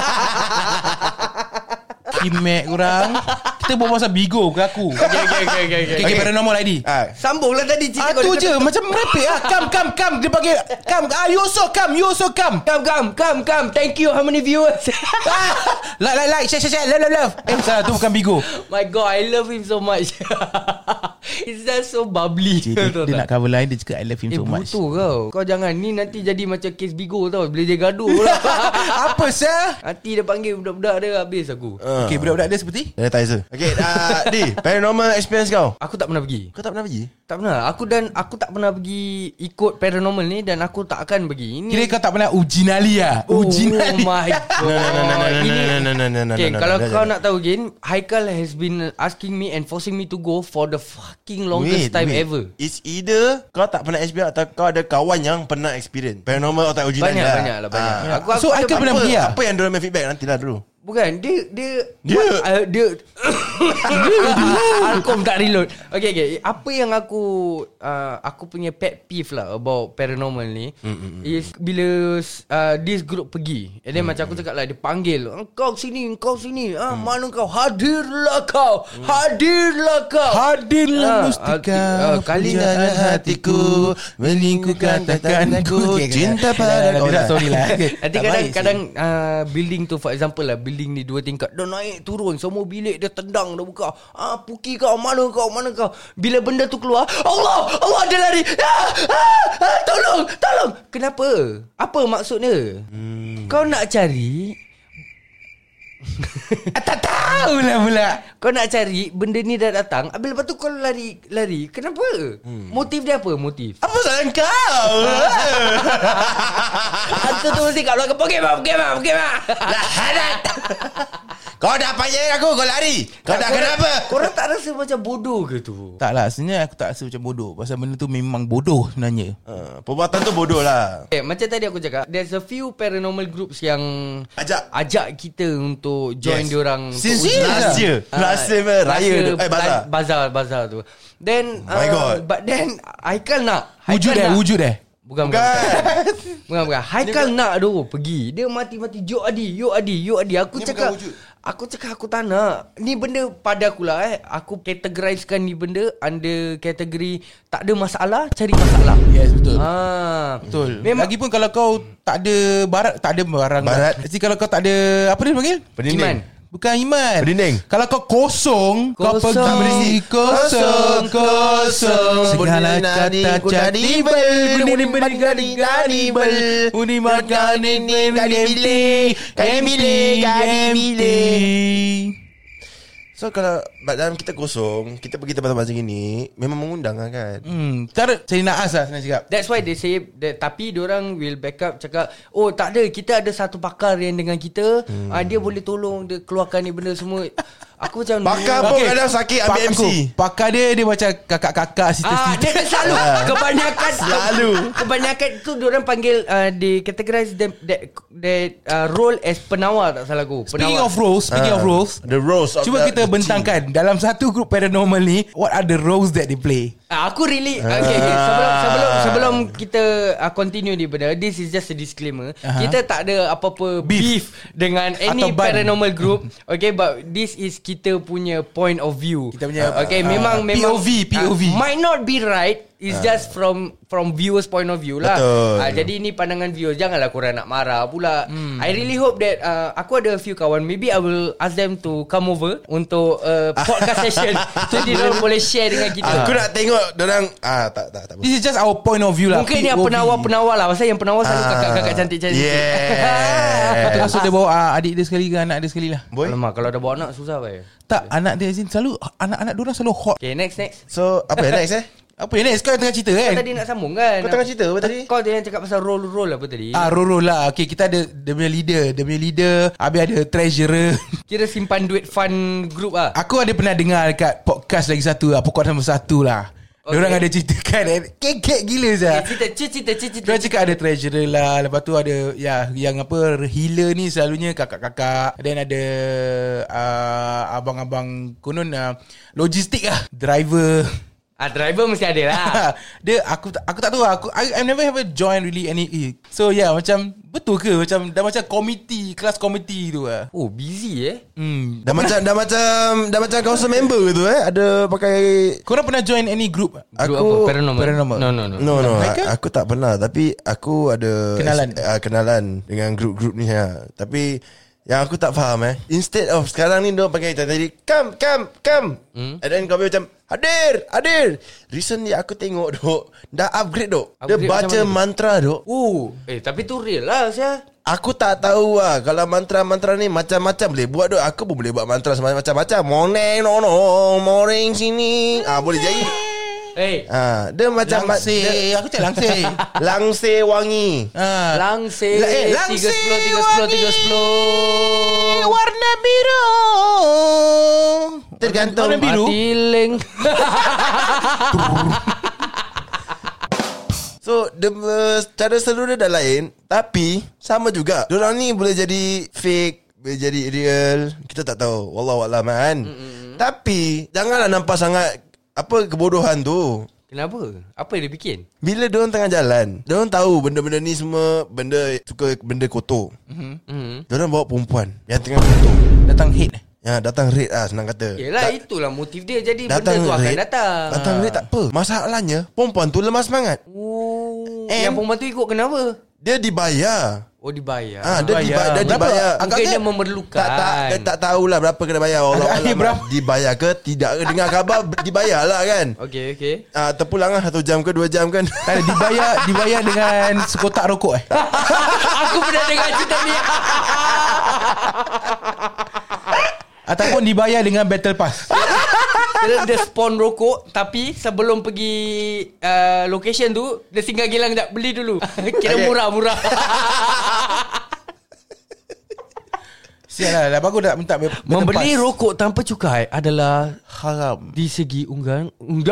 Kimek korang. Kita buat pasal Bigo ke aku. Okay, paranormal ID. Sambunglah tadi cerita Tu je macam merepek lah. Come. Dia panggil come. You also come. Come. Thank you. How many viewers? Like, share, love. Salah, tu bukan Bigo. My God, I love him so much. He's just so bubbly. Dia nak cover line. Dia cakap I love him so much. Betul kau jangan. Ni nanti jadi macam kes Bigo tau. Bila dia gaduh lah. Apa sah? Nanti dia panggil budak-budak dia, habis aku. Okay, budak-budak dia seperti Sanitizer. Okay, Di, paranormal experience kau. Aku tak pernah pergi. Kau tak pernah pergi? Tak pernah. Aku tak pernah pergi ikut paranormal ni, dan aku tak akan pergi. Ini kira kau tak pernah uji nyali lah. Oh Uji nyali. my God. Okay, kalau kau nak tahu Gin, Haikal has been asking me and forcing me to go for the fucking longest time ever. It's either kau tak pernah experience atau kau ada kawan yang pernah experience paranormal atau uji nyali. Banyak lah. So Haikal pernah pergi lah. Apa yang diorang feedback nantilah dulu. Bukan Dia Alkom tak reload. Okay. Apa yang aku punya pet peeve lah about paranormal ni is bila this group pergi, and then macam aku cakap lah, dia panggil, Kau sini mana kau, hadirlah kau. Hadirlah mustika Kalinya hatiku melingkup katakanku cinta pada kau. Sorry lah. Nanti kadang-kadang building tu, for example lah, building building ni 2 tingkat. Dah naik turun, semua bilik dia tendang, dah buka. Puki kau, mana kau. Bila benda tu keluar, Allah dia lari. Tolong. Kenapa? Apa maksudnya? Kau nak cari Tak tahulah pula. Kau nak cari benda ni dah datang. Habis lepas tu kau lari. Kenapa? Motif dia apa? Apa salah kau? Hantu tu mesti kat luar. Pergi mak. Kau dah payah aku, kau lari. Kau dah kenapa? Korang tak rasa macam bodoh ke tu? Tak lah, sebenarnya aku tak rasa macam bodoh. Pasal benda tu memang bodoh sebenarnya. Perbuatan tu bodoh lah. Macam tadi aku cakap, there's a few paranormal groups yang ajak kita untuk join diorang. Since last year raya tu, bazar tu. Then My God. but then Haikal nak Wujud eh. Bukan. Haikal nak tu pergi. Dia mati-mati Yuk Adi. Aku cakap aku tak nak. Ni benda pada akulah aku categorizekan ni benda under kategori tak ada masalah, cari masalah. Yes, betul. Betul. Memang lagipun kalau kau tak ada barang. Jadi kalau kau tak ada apa dia panggil? Iman. Bukan iman. Berdinding. Kalau kau kosong, kau Kosong. pergi kosong. Segala kata jadi Uni makan ini kali milih. So kalau dalam kita kosong, kita pergi tempat-tempat macam ni, memang mengundang lah kan. Cara cari naas lah senang cakap. That's why they say that, tapi diorang will back up cakap, oh tak ada, kita ada satu pakar yang dengan kita, dia boleh tolong, dia keluarkan ni benda semua. Aku macam Pakar pun kadang sakit ambil MC. Pakar dia macam kakak-kakak, sister-sister. Dia selalu Kebanyakan tu diorang panggil they categorize them that role as penawar, tak salah aku. Speaking of roles, the roles of cuba kita bentangkan dalam satu group paranormal ni, what are the roles that they play? Aku really okay. Sebelum kita continue ni benda, this is just a disclaimer. Kita tak ada apa-apa beef dengan any paranormal group. Okay, but this is kita punya point of view. Kita punya memang POV might not be right. It's just from viewers point of view lah. Jadi ni pandangan viewers. Janganlah korang nak marah pula. I really hope that aku ada a few kawan, maybe I will ask them to come over untuk podcast session. Jadi diorang boleh share dengan kita. Aku nak tengok dorang tak. This is just our point of view lah. Mungkin yang penawar lah. Pasal yang penawar selalu kakak-kakak cantik-cantik. Kita rasa dia bawa adik dia sekali ke anak dia sekali lah. Alamak, kalau dah bawa anak susah bay. Tak, anak dia selalu, anak-anak diorang selalu hot. Okay, next. So apa yang next Apa yang next? Kau tengah cerita kan? Kau tadi nak sambung kan? Kau tengah cerita apa tadi? Kau yang cakap pasal role apa tadi? Role lah. Okay, kita ada dia punya leader. Habis ada treasurer. Kira simpan duit fund group lah. Aku ada pernah dengar dekat podcast lagi satu lah, podcast nombor 1 lah. Okay. Diorang ada ceritakan kek gila je. Cerita. Diorang cakap ada treasurer lah. Lepas tu ada yang apa, healer ni selalunya kakak-kakak. Dan ada abang-abang konon logistik lah, driver. Driver mesti ada lah. Dia aku tak tahu lah. I never ever join really any. So yeah, macam betul ke macam dah macam komiti, kelas komiti tu lah. Oh, busy Dah macam council member tu ada pakai. Korang pernah join any group? Group apa? Paranormal. No. Aku tak pernah, tapi aku ada kenalan dengan grup-grup ni Tapi yang aku tak faham instead of sekarang ni diorang pakai tadi come and then kau macam hadir. Recently aku tengok dah upgrade dia baca mantra tapi tu real lah saya. Aku tak tahu lah. Kalau mantra-mantra ni macam-macam boleh buat Aku pun boleh buat mantra macam-macam. Morning sini boleh jadi. Dia macam langsir. Aku cakap langsir. Langsir wangi. Langsir 310 warna biru. Tergantung warna biru. Matiling. So cara seluruh dia dah lain, tapi sama juga. Diorang ni boleh jadi fake, boleh jadi real. Kita tak tahu, wallahualam kan. Tapi janganlah nampak sangat kebodohan tu. Kenapa? Apa yang dia bikin? Bila diorang tengah jalan, diorang tahu benda-benda ni semua benda kotor. Diorang bawa perempuan yang tengah kotor, Datang hit. Datang raid senang kata. Yelah, itulah motif dia. Jadi benda tu akan datang. Datang raid tak apa. Masalahnya perempuan tu lemah semangat. Yang perempuan tu ikut kenapa? Dia dibayar. Oh dibayar. Dia dibayar. Mungkin dia memerlukan. Dia tak tahulah berapa kena bayar. Allah dibayar ke tidak ke, dengar khabar dibayar lah kan. Okay. Terpulang lah 1 jam ke 2 jam kan. Tak ada, dibayar dengan sekotak rokok Aku pernah dengar cerita ni. Ataupun dibayar dengan battle pass. Dia spawn rokok, tapi sebelum pergi location tu, dia singgah gilang tak beli dulu. Kira murah-murah. Sial lah, bagus tak minta membeli rokok tanpa cukai adalah haram di segi undang-undang.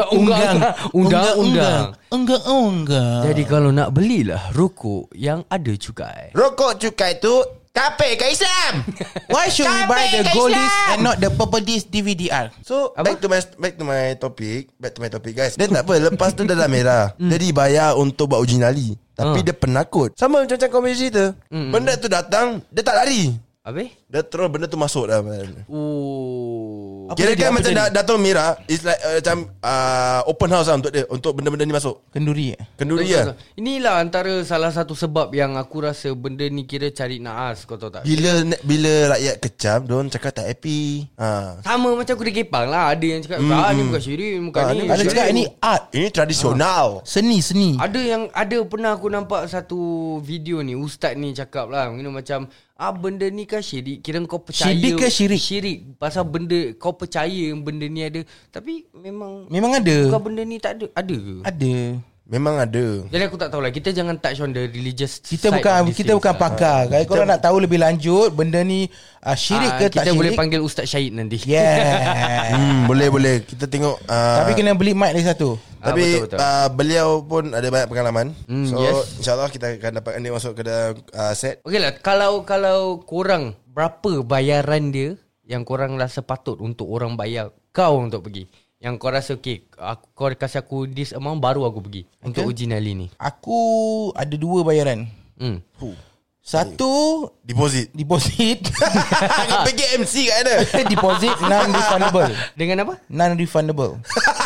Jadi kalau nak belilah rokok yang ada cukai. Rokok cukai tu kapek kat Islam. Why should we buy the gold disc and not the purple disc DVD-R? So back to my topic guys. Dia tak apa, lepas tu dah merah. Dia dibayar untuk buat uji nyali, tapi dia penakut. Sama macam komedi cerita. Benda tu datang, dia tak lari. Habis? Dia terus benda tu masuk dah. Oh. Kira kan macam dah tahu merah. It's like macam open house lah untuk dia, untuk benda-benda ni masuk. Kenduri lah. Inilah antara salah satu sebab yang aku rasa benda ni kira cari naas, kau tahu tak? Bila rakyat kecam, diorang cakap tak happy. Sama macam aku di Kepang lah. Ada yang cakap ni bukan syirik, bukan ni. Ada cakap ini art, ini tradisional. Seni. Ada pernah aku nampak satu video ni, ustaz ni cakap lah macam benda ni kan syirik. Kira kau percaya syirik ke syirik? Syirik. Pasal benda kau percaya benda ni ada. Tapi memang ada. Bukan benda ni tak ada. Ada ke? Ada. Memang ada. Jadi aku tak tahulah. Kita jangan touch on the religious kita bukan pakar. Kalau korang nak tahu lebih lanjut benda ni syirik ke tak kita syirik, boleh panggil Ustaz Syahid nanti. Boleh. Kita tengok tapi kena beli mic lagi satu. Tapi betul. Beliau pun ada banyak pengalaman. So yes. InsyaAllah kita akan dapat dia masuk ke dalam set. Okey lah. Kalau korang, berapa bayaran dia yang korang rasa patut untuk orang bayar kau untuk pergi? Yang kau rasa kau kasih aku this amount baru aku pergi untuk uji nyali ni. Aku ada 2 bayaran. Satu Deposit pergi MC kat ada. deposit non-refundable. Dengan apa? Non-refundable.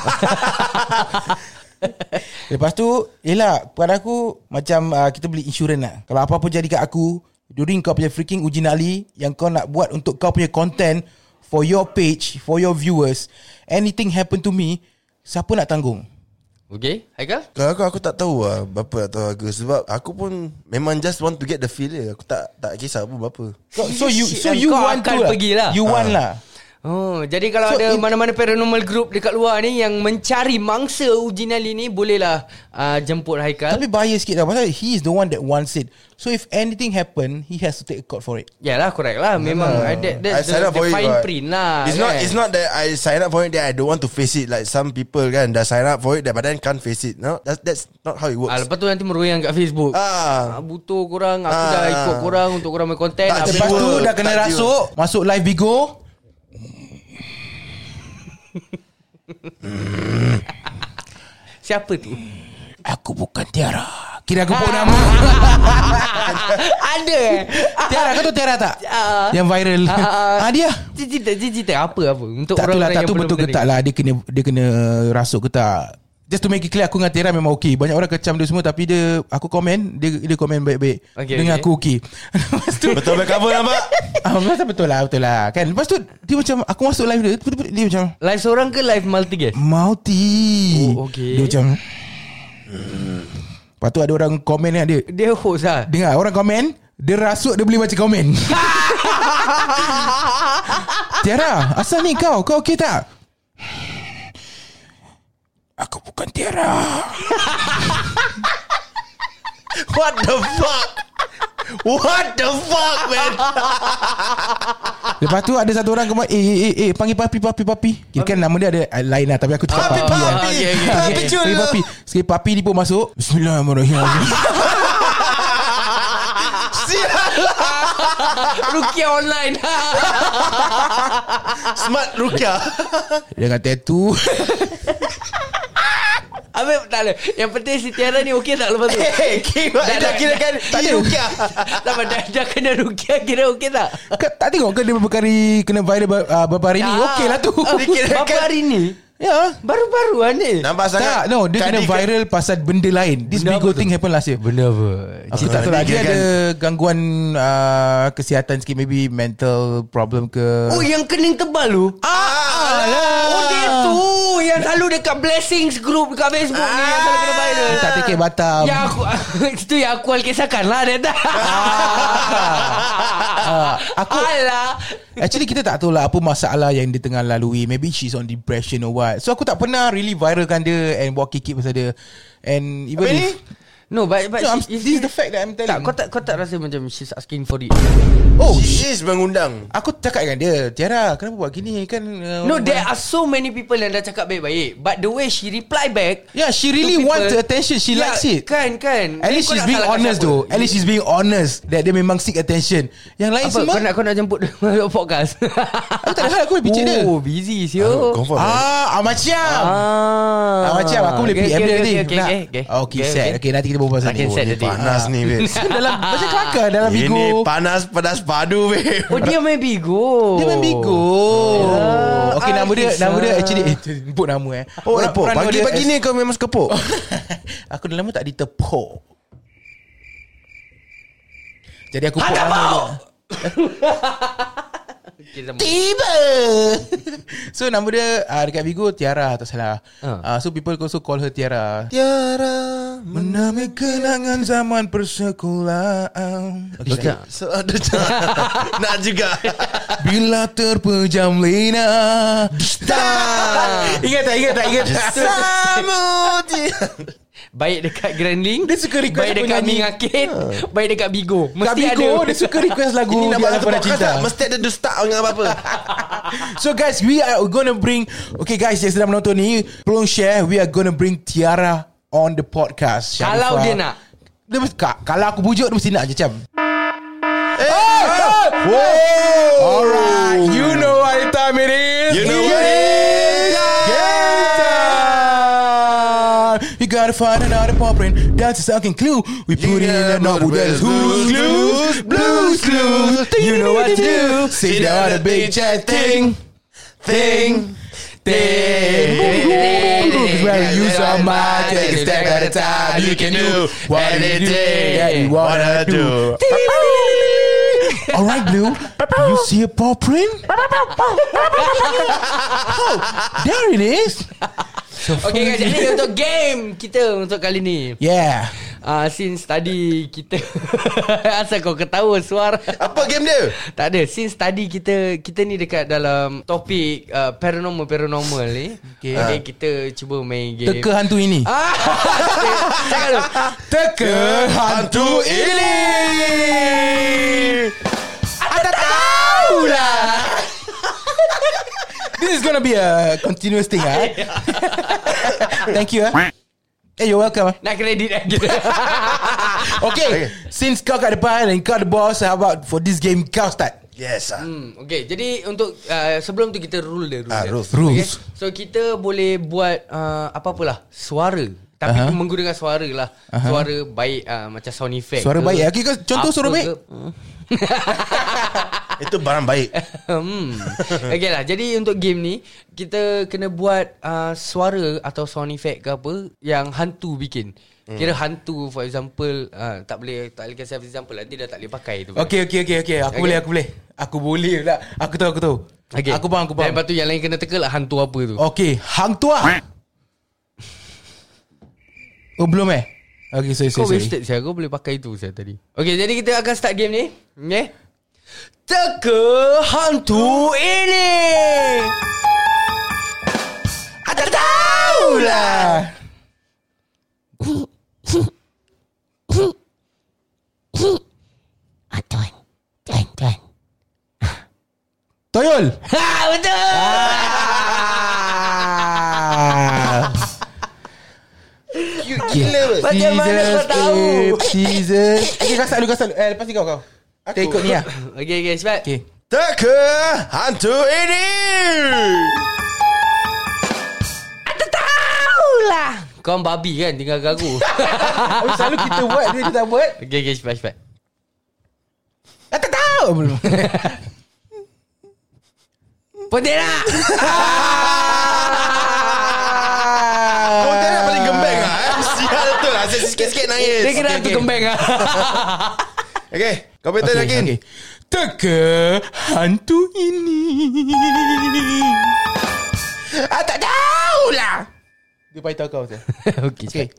Lepas tu yelah, pada aku macam kita beli insurans lah. Kalau apa-apa jadi kat aku during kau punya freaking uji nyali yang kau nak buat untuk kau punya content, for your page, for your viewers, anything happen to me, siapa nak tanggung? Okay, Haikal? Kalau aku tak tahu lah berapa nak tahu harga. Sebab aku pun memang just want to get the feel dia. Aku tak kisah pun berapa. So you want to pergilah. You want lah. Oh, jadi kalau ada mana-mana paranormal group dekat luar ni yang mencari mangsa uji nyali ni, bolehlah jemput Haikal. Tapi bahaya sikit lah, pasal he is the one that wants it. So if anything happen, he has to take a court for it. Yalah, correct lah. Memang that's the fine print lah. It's not that I sign up for it that I don't want to face it. Like some people kan dah sign up for it but then can't face it. No, that's not how it works. Lepas tu nanti meroyan kat Facebook. Butuh korang, aku dah ikut korang untuk korang main konten. Lepas tu dah kena rasuk, masuk live Bigo. Siapa tu? Aku bukan Tiara. Kira aku pun nama. Ada Tiara, kau tahu Tiara tak? Yang viral. Dia Cita apa untuk tak orang-orang tak yang tu belum betul ke kena tak lah. Dia kena rasuk ke tak. Just to make it clear, aku dengan Tiara memang okay. Banyak orang kecam dia semua, tapi aku komen, dia komen baik-baik. Dengan aku okay. Lepas tu betul cover nampak. Betul lah kan. Lepas tu dia macam, aku masuk live dia macam live seorang ke live multi guest? Multi. Okay. Dia macam lepas tu ada orang komen kan, dia host lah. Dengar orang komen, dia rasuk, dia boleh baca komen. Tiara, asal ni kau okay tak? Aku bukan Tiara. What the fuck man. Lepas tu ada satu orang kemar, panggil papi. Kira kan nama dia ada lain lah, tapi aku cakap papi. Papi. Sekali papi ni pun masuk. Bismillahirrahmanirrahim. Rukia online. Smart Rukia. Dengan tattoo. Habis tak ada. Yang penting si Tiara ni okey tak lepas tu? Dah kira kan tak ada Rukia. Dah kena Rukia, kira okey tak? Tak tengok ke dia beberapa kali kena viral beberapa hari ni? Okey lah tu. Berapa hari ni? Ya. Baru-baruan ni. Nampak sangat. Tak, no, dia kena viral pasal benda lain. This Benda Bigo apa tu? thing happen last year. Benda apa? Aku tak tahu lah. Dia ada gangguan kesihatan sikit. Maybe mental problem ke. Oh, yang kening tebal tu? Oh, dia tu. Yang selalu dekat Blessings group dekat Facebook ni. Yang selalu kena viral. Tak take Batam. Yang aku itu yang aku kisahkan lah dia tak. Aku Alah. actually kita tak tahu lah apa masalah yang dia tengah lalui. Maybe she's on depression or what. So aku tak pernah really viralkan dia and buat kikik pasal dia. And even if No, but no, this is the fact that I'm telling. kau tak rasa macam she's asking for it? Oh, She is mengundang. aku cakap dengan dia, Tiara, kenapa buat gini kan? No, there are so many people yang dah cakap baik-baik, but the way she reply back, Yeah, she really to people, wants the attention. She likes it. Kan. At least she's being honest though. At least she's being honest that dia memang seek attention. Yang lain Apa, semua kau nak jemput dia podcast? aku tak ada hal, aku boleh picit dia. Oh, busy siu. Confirm. Macam macam aku boleh PM dia nanti. Okay, set. Okay, nanti kita berbual pasal Makin ni. set. Panas ni, babe. Dalam macam kelakar dalam Ini Bigo. panas pedas padu, babe. Oh, dia main Bigo. Dia main Bigo. Okay, nama dia actually sebut nama Oh, apa? Pagi-pagi ni kau memang suka pok? Aku dah lama tak ditepuk. Jadi aku pok nama dia. Tiba. So nama dia dekat Bigo Tiara, tak salah. So people also call her Tiara. Tiara Menamai kenangan zaman persekolahan. Okay. So ada nak juga. Bila terpejam lina. Ingat tak? Samud. Baik dekat Grand Link, Dia suka request baik aku dekat nyanyi. Ming Arcade, baik dekat Bigo. Kat Mesti Bigo ada. dia suka request lagu Ini nak Di buat Alam satu Pada podcast Cinta. tak? Mesti ada the start dengan apa-apa. So guys, we are gonna bring, okay guys yang sedang menonton ni, tolong share. We are gonna bring Tiara on the podcast. Kalau Sharifah. dia nak. Dia mesti, kalau aku bujuk dia mesti nak je macam. Alright, you know what time it is. You know what it is. Game time. You gotta find another pop print. That's a second clue. We put it in a novel. That's Who's Clues. Blues Clues. You know what to do. Sit down a big chat thing. Well, you so much. Take a step at a time. You can do anything that you wanna do. Alright, Blue. You see a paw print? Oh, there it is. So Okay guys, jadi untuk game kita untuk kali ni. yeah. Since tadi kita asal kau ketawa suara. Apa game dia? Tak ada. Since tadi kita ni dekat dalam topik paranormal ni. Okay, kita cuba main game. Teka hantu ini. Cakap dulu. Teka hantu ini. Ada tahu lah. This is gonna be a continuous thing, Thank you, Hey, you're welcome. Nak kredit lagi. Okay, since kau kat depan and kau the boss, how about for this game kau start? Yes. Okay, jadi untuk sebelum tu kita rule dia. Rules. Okay? So kita boleh buat apa-apalah suara. Tapi menggunakan suara lah. Suara baik macam sound effect. Suara ke, baik. Okay, kau contoh apa suara baik. ke. Itu barang baik. Okay lah. Jadi untuk game ni kita kena buat suara atau sound effect ke apa yang hantu bikin. Kira hantu for example tak boleh kasih example nanti dah tak boleh pakai tu. Okay. Aku boleh tak? Aku tahu. Okay. Aku faham. Dan lepas tu yang lain kena teka lah hantu apa tu. Okay, hang tua. Oh, belum Okay, sorry. Kau wasted saya. Kau boleh pakai tu saya tadi. Okay, jadi kita akan start game ni. Okay. Teka hantu ini. Ada tahu lah. Tuan. Toyol. Ha, betul. Gila. Bagaimana kau tahu? Jesus. Okay, kau start dulu. Lepas ni kau. Kita ikut ni lah. Okay, cepat. Okay. Teka hantu ini. Ada tahu lah. Kau babi kan tinggal gagu. Selalu kita buat, dia tak buat. Okay, cepat. Tak tahu. Belum. Pontianak. sikit nangis. Dia kira hantu kembang lah. Okay, komputer yakin. Teka hantu ini. Tak tahulah. Dia beritahu kau tu. Okay.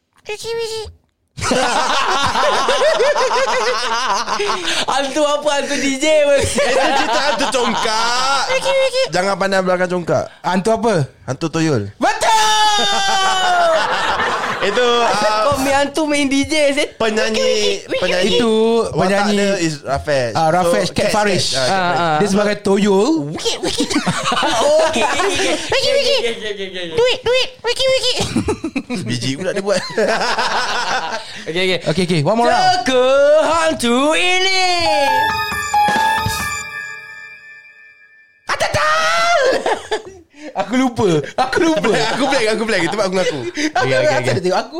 Hantu apa? Hantu DJ pun. Itu cerita hantu congkak. Jangan pandang belakang congkak. Hantu apa? Hantu toyol. Betul. Itu Kau hantu main DJ set. penyanyi Itu watak penyanyi dia is Raffesh. Raffesh, Cat Farish. Dia sebagai toyol. Duit. Wiki. Biji pula dia buat. Okay. One more round. Teka hantu ini. Tak tahu. Aku lupa. Aku blank. Itu aku ngaku. Okay. Dia tengok aku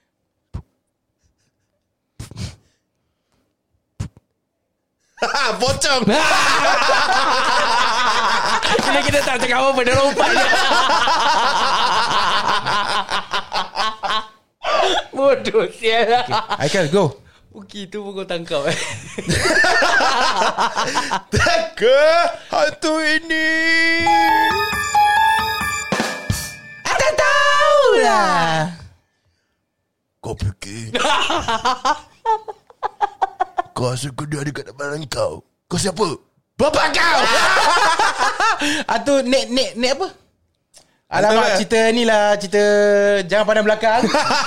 Pocong. Bila kita tak cakap apa-apa, dia lompat je. Bodoh sial. Aikal, go. Puki tu pun kau tangkap. Teka hantu ini. Tak tahulah. Kau fikir kau rasa dia ada kat depan kau? Kau siapa? Bapak kau. Atau nek apa? Alamak, cerita ni lah. Cerita jangan pandang belakang.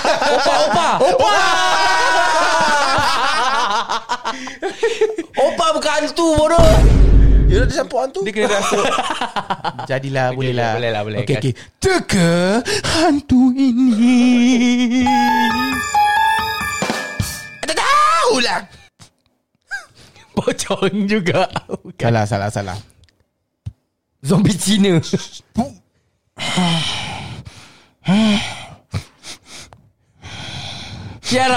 Opa bukan hantu bodoh. Ya dia campur hantu. Dia kena rasa. Jadilah, boleh lah. Boleh. Okay. Teka hantu ini. Tak tahulah. Pocong juga. Salah. Zombie Cina. Kiara.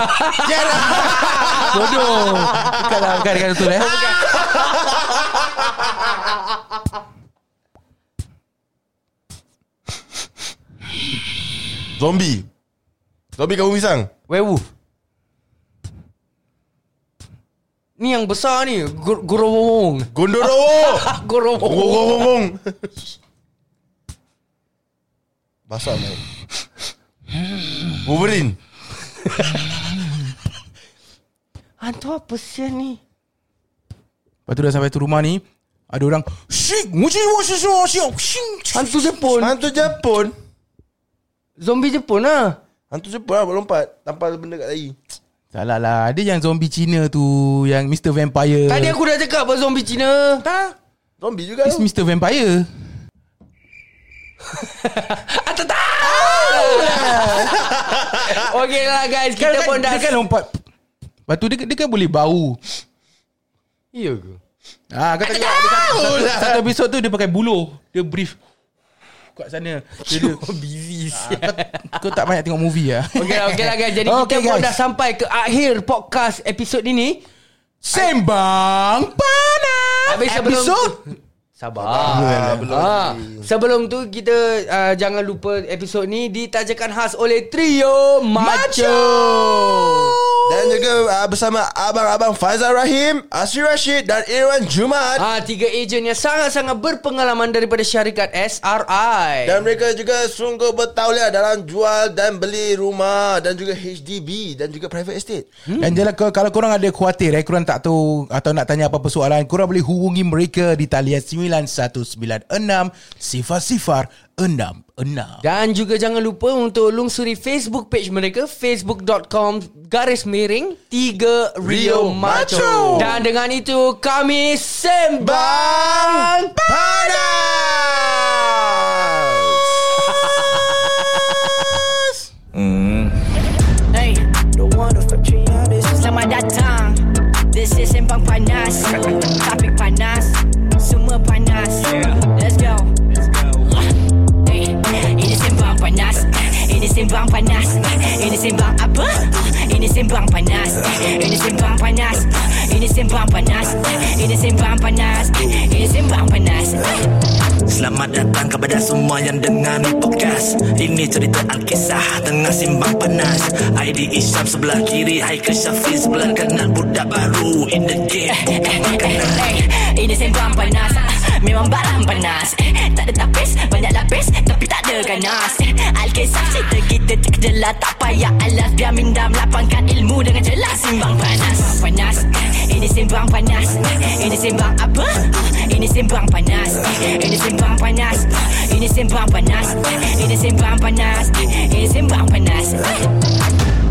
Bodoh. Bukan betul Zombie kamu pisang. Werewolf. Ni yang besar ni. Gorowong. Gondorowo. Gorowong. Basah main. Wolverine. Hantu apa sih ni? Lepas tu dah sampai tu rumah ni, ada orang Hantu Jepun. Zombie Jepun lah. Hantu Jepun lah lompat tampal benda kat dahi. Salah lah. Ada yang zombie Cina tu, yang Mr. Vampire. Tadi aku dah cakap apa zombie Cina. Tak. Zombie juga It's tu. Mr. Vampire. Tak tahu. Okay lah guys, kita pun dah. Dia kan lompat. Lepas tu dia kan boleh bau. Iya ke? Kau tengok satu episod tu dia pakai buluh. Dia brief kat sana. Dia busy. Kau tak banyak tengok movie lah. Okay lah guys. Jadi kita pun dah sampai ke akhir podcast episod ini. Sembang Panas. Habis episod Sabar. Sebelum tu kita jangan lupa episod ni ditajakan khas oleh Trio Macho. Dan juga bersama abang-abang Faizal Rahim, Asri Rashid dan Irwan Jumat. 3 ejen yang sangat-sangat berpengalaman daripada syarikat SRI. Dan mereka juga sungguh bertauliah dalam jual dan beli rumah dan juga HDB dan juga private estate. Dan kalau korang ada khuatir, korang tak tahu atau nak tanya apa-apa soalan, korang boleh hubungi mereka di talian 9196 0066. Dan juga jangan lupa untuk lungsuri Facebook page mereka, facebook.com/3 Rio Macho. Dan dengan itu kami Sembang Panas. Hey, selamat datang. This is Sembang Panas. Topik panas, semua panas. Let's go. Ini Sembang Panas. Ini Sembang Panas. Ini Sembang apa? Ini Ini sembang panas. Ini sembang panas. Ini sembang panas. Ini sembang panas. Ini sembang panas. Selamat datang kepada semua yang dengar ni podcast. Ini cerita Alkisah tengah simbang panas. ID Isyam sebelah kiri, Haikal Syafiq sebelah kanan. Budak baru in the game. Ini sembang panas. Memang barang panas. Tak ada tapis, banyak lapis, tapi tak ada ganas. Alkisah cerita kita terkejelah, tak payah alas. Biar minda melapangkan ilmu dengan jelas. Simbang panas. Panas. Ini sembang panas. Ini sembang apa? Ini sembang panas. Ini sembang panas. Ini sembang panas. Ini sembang panas. Ini sembang panas.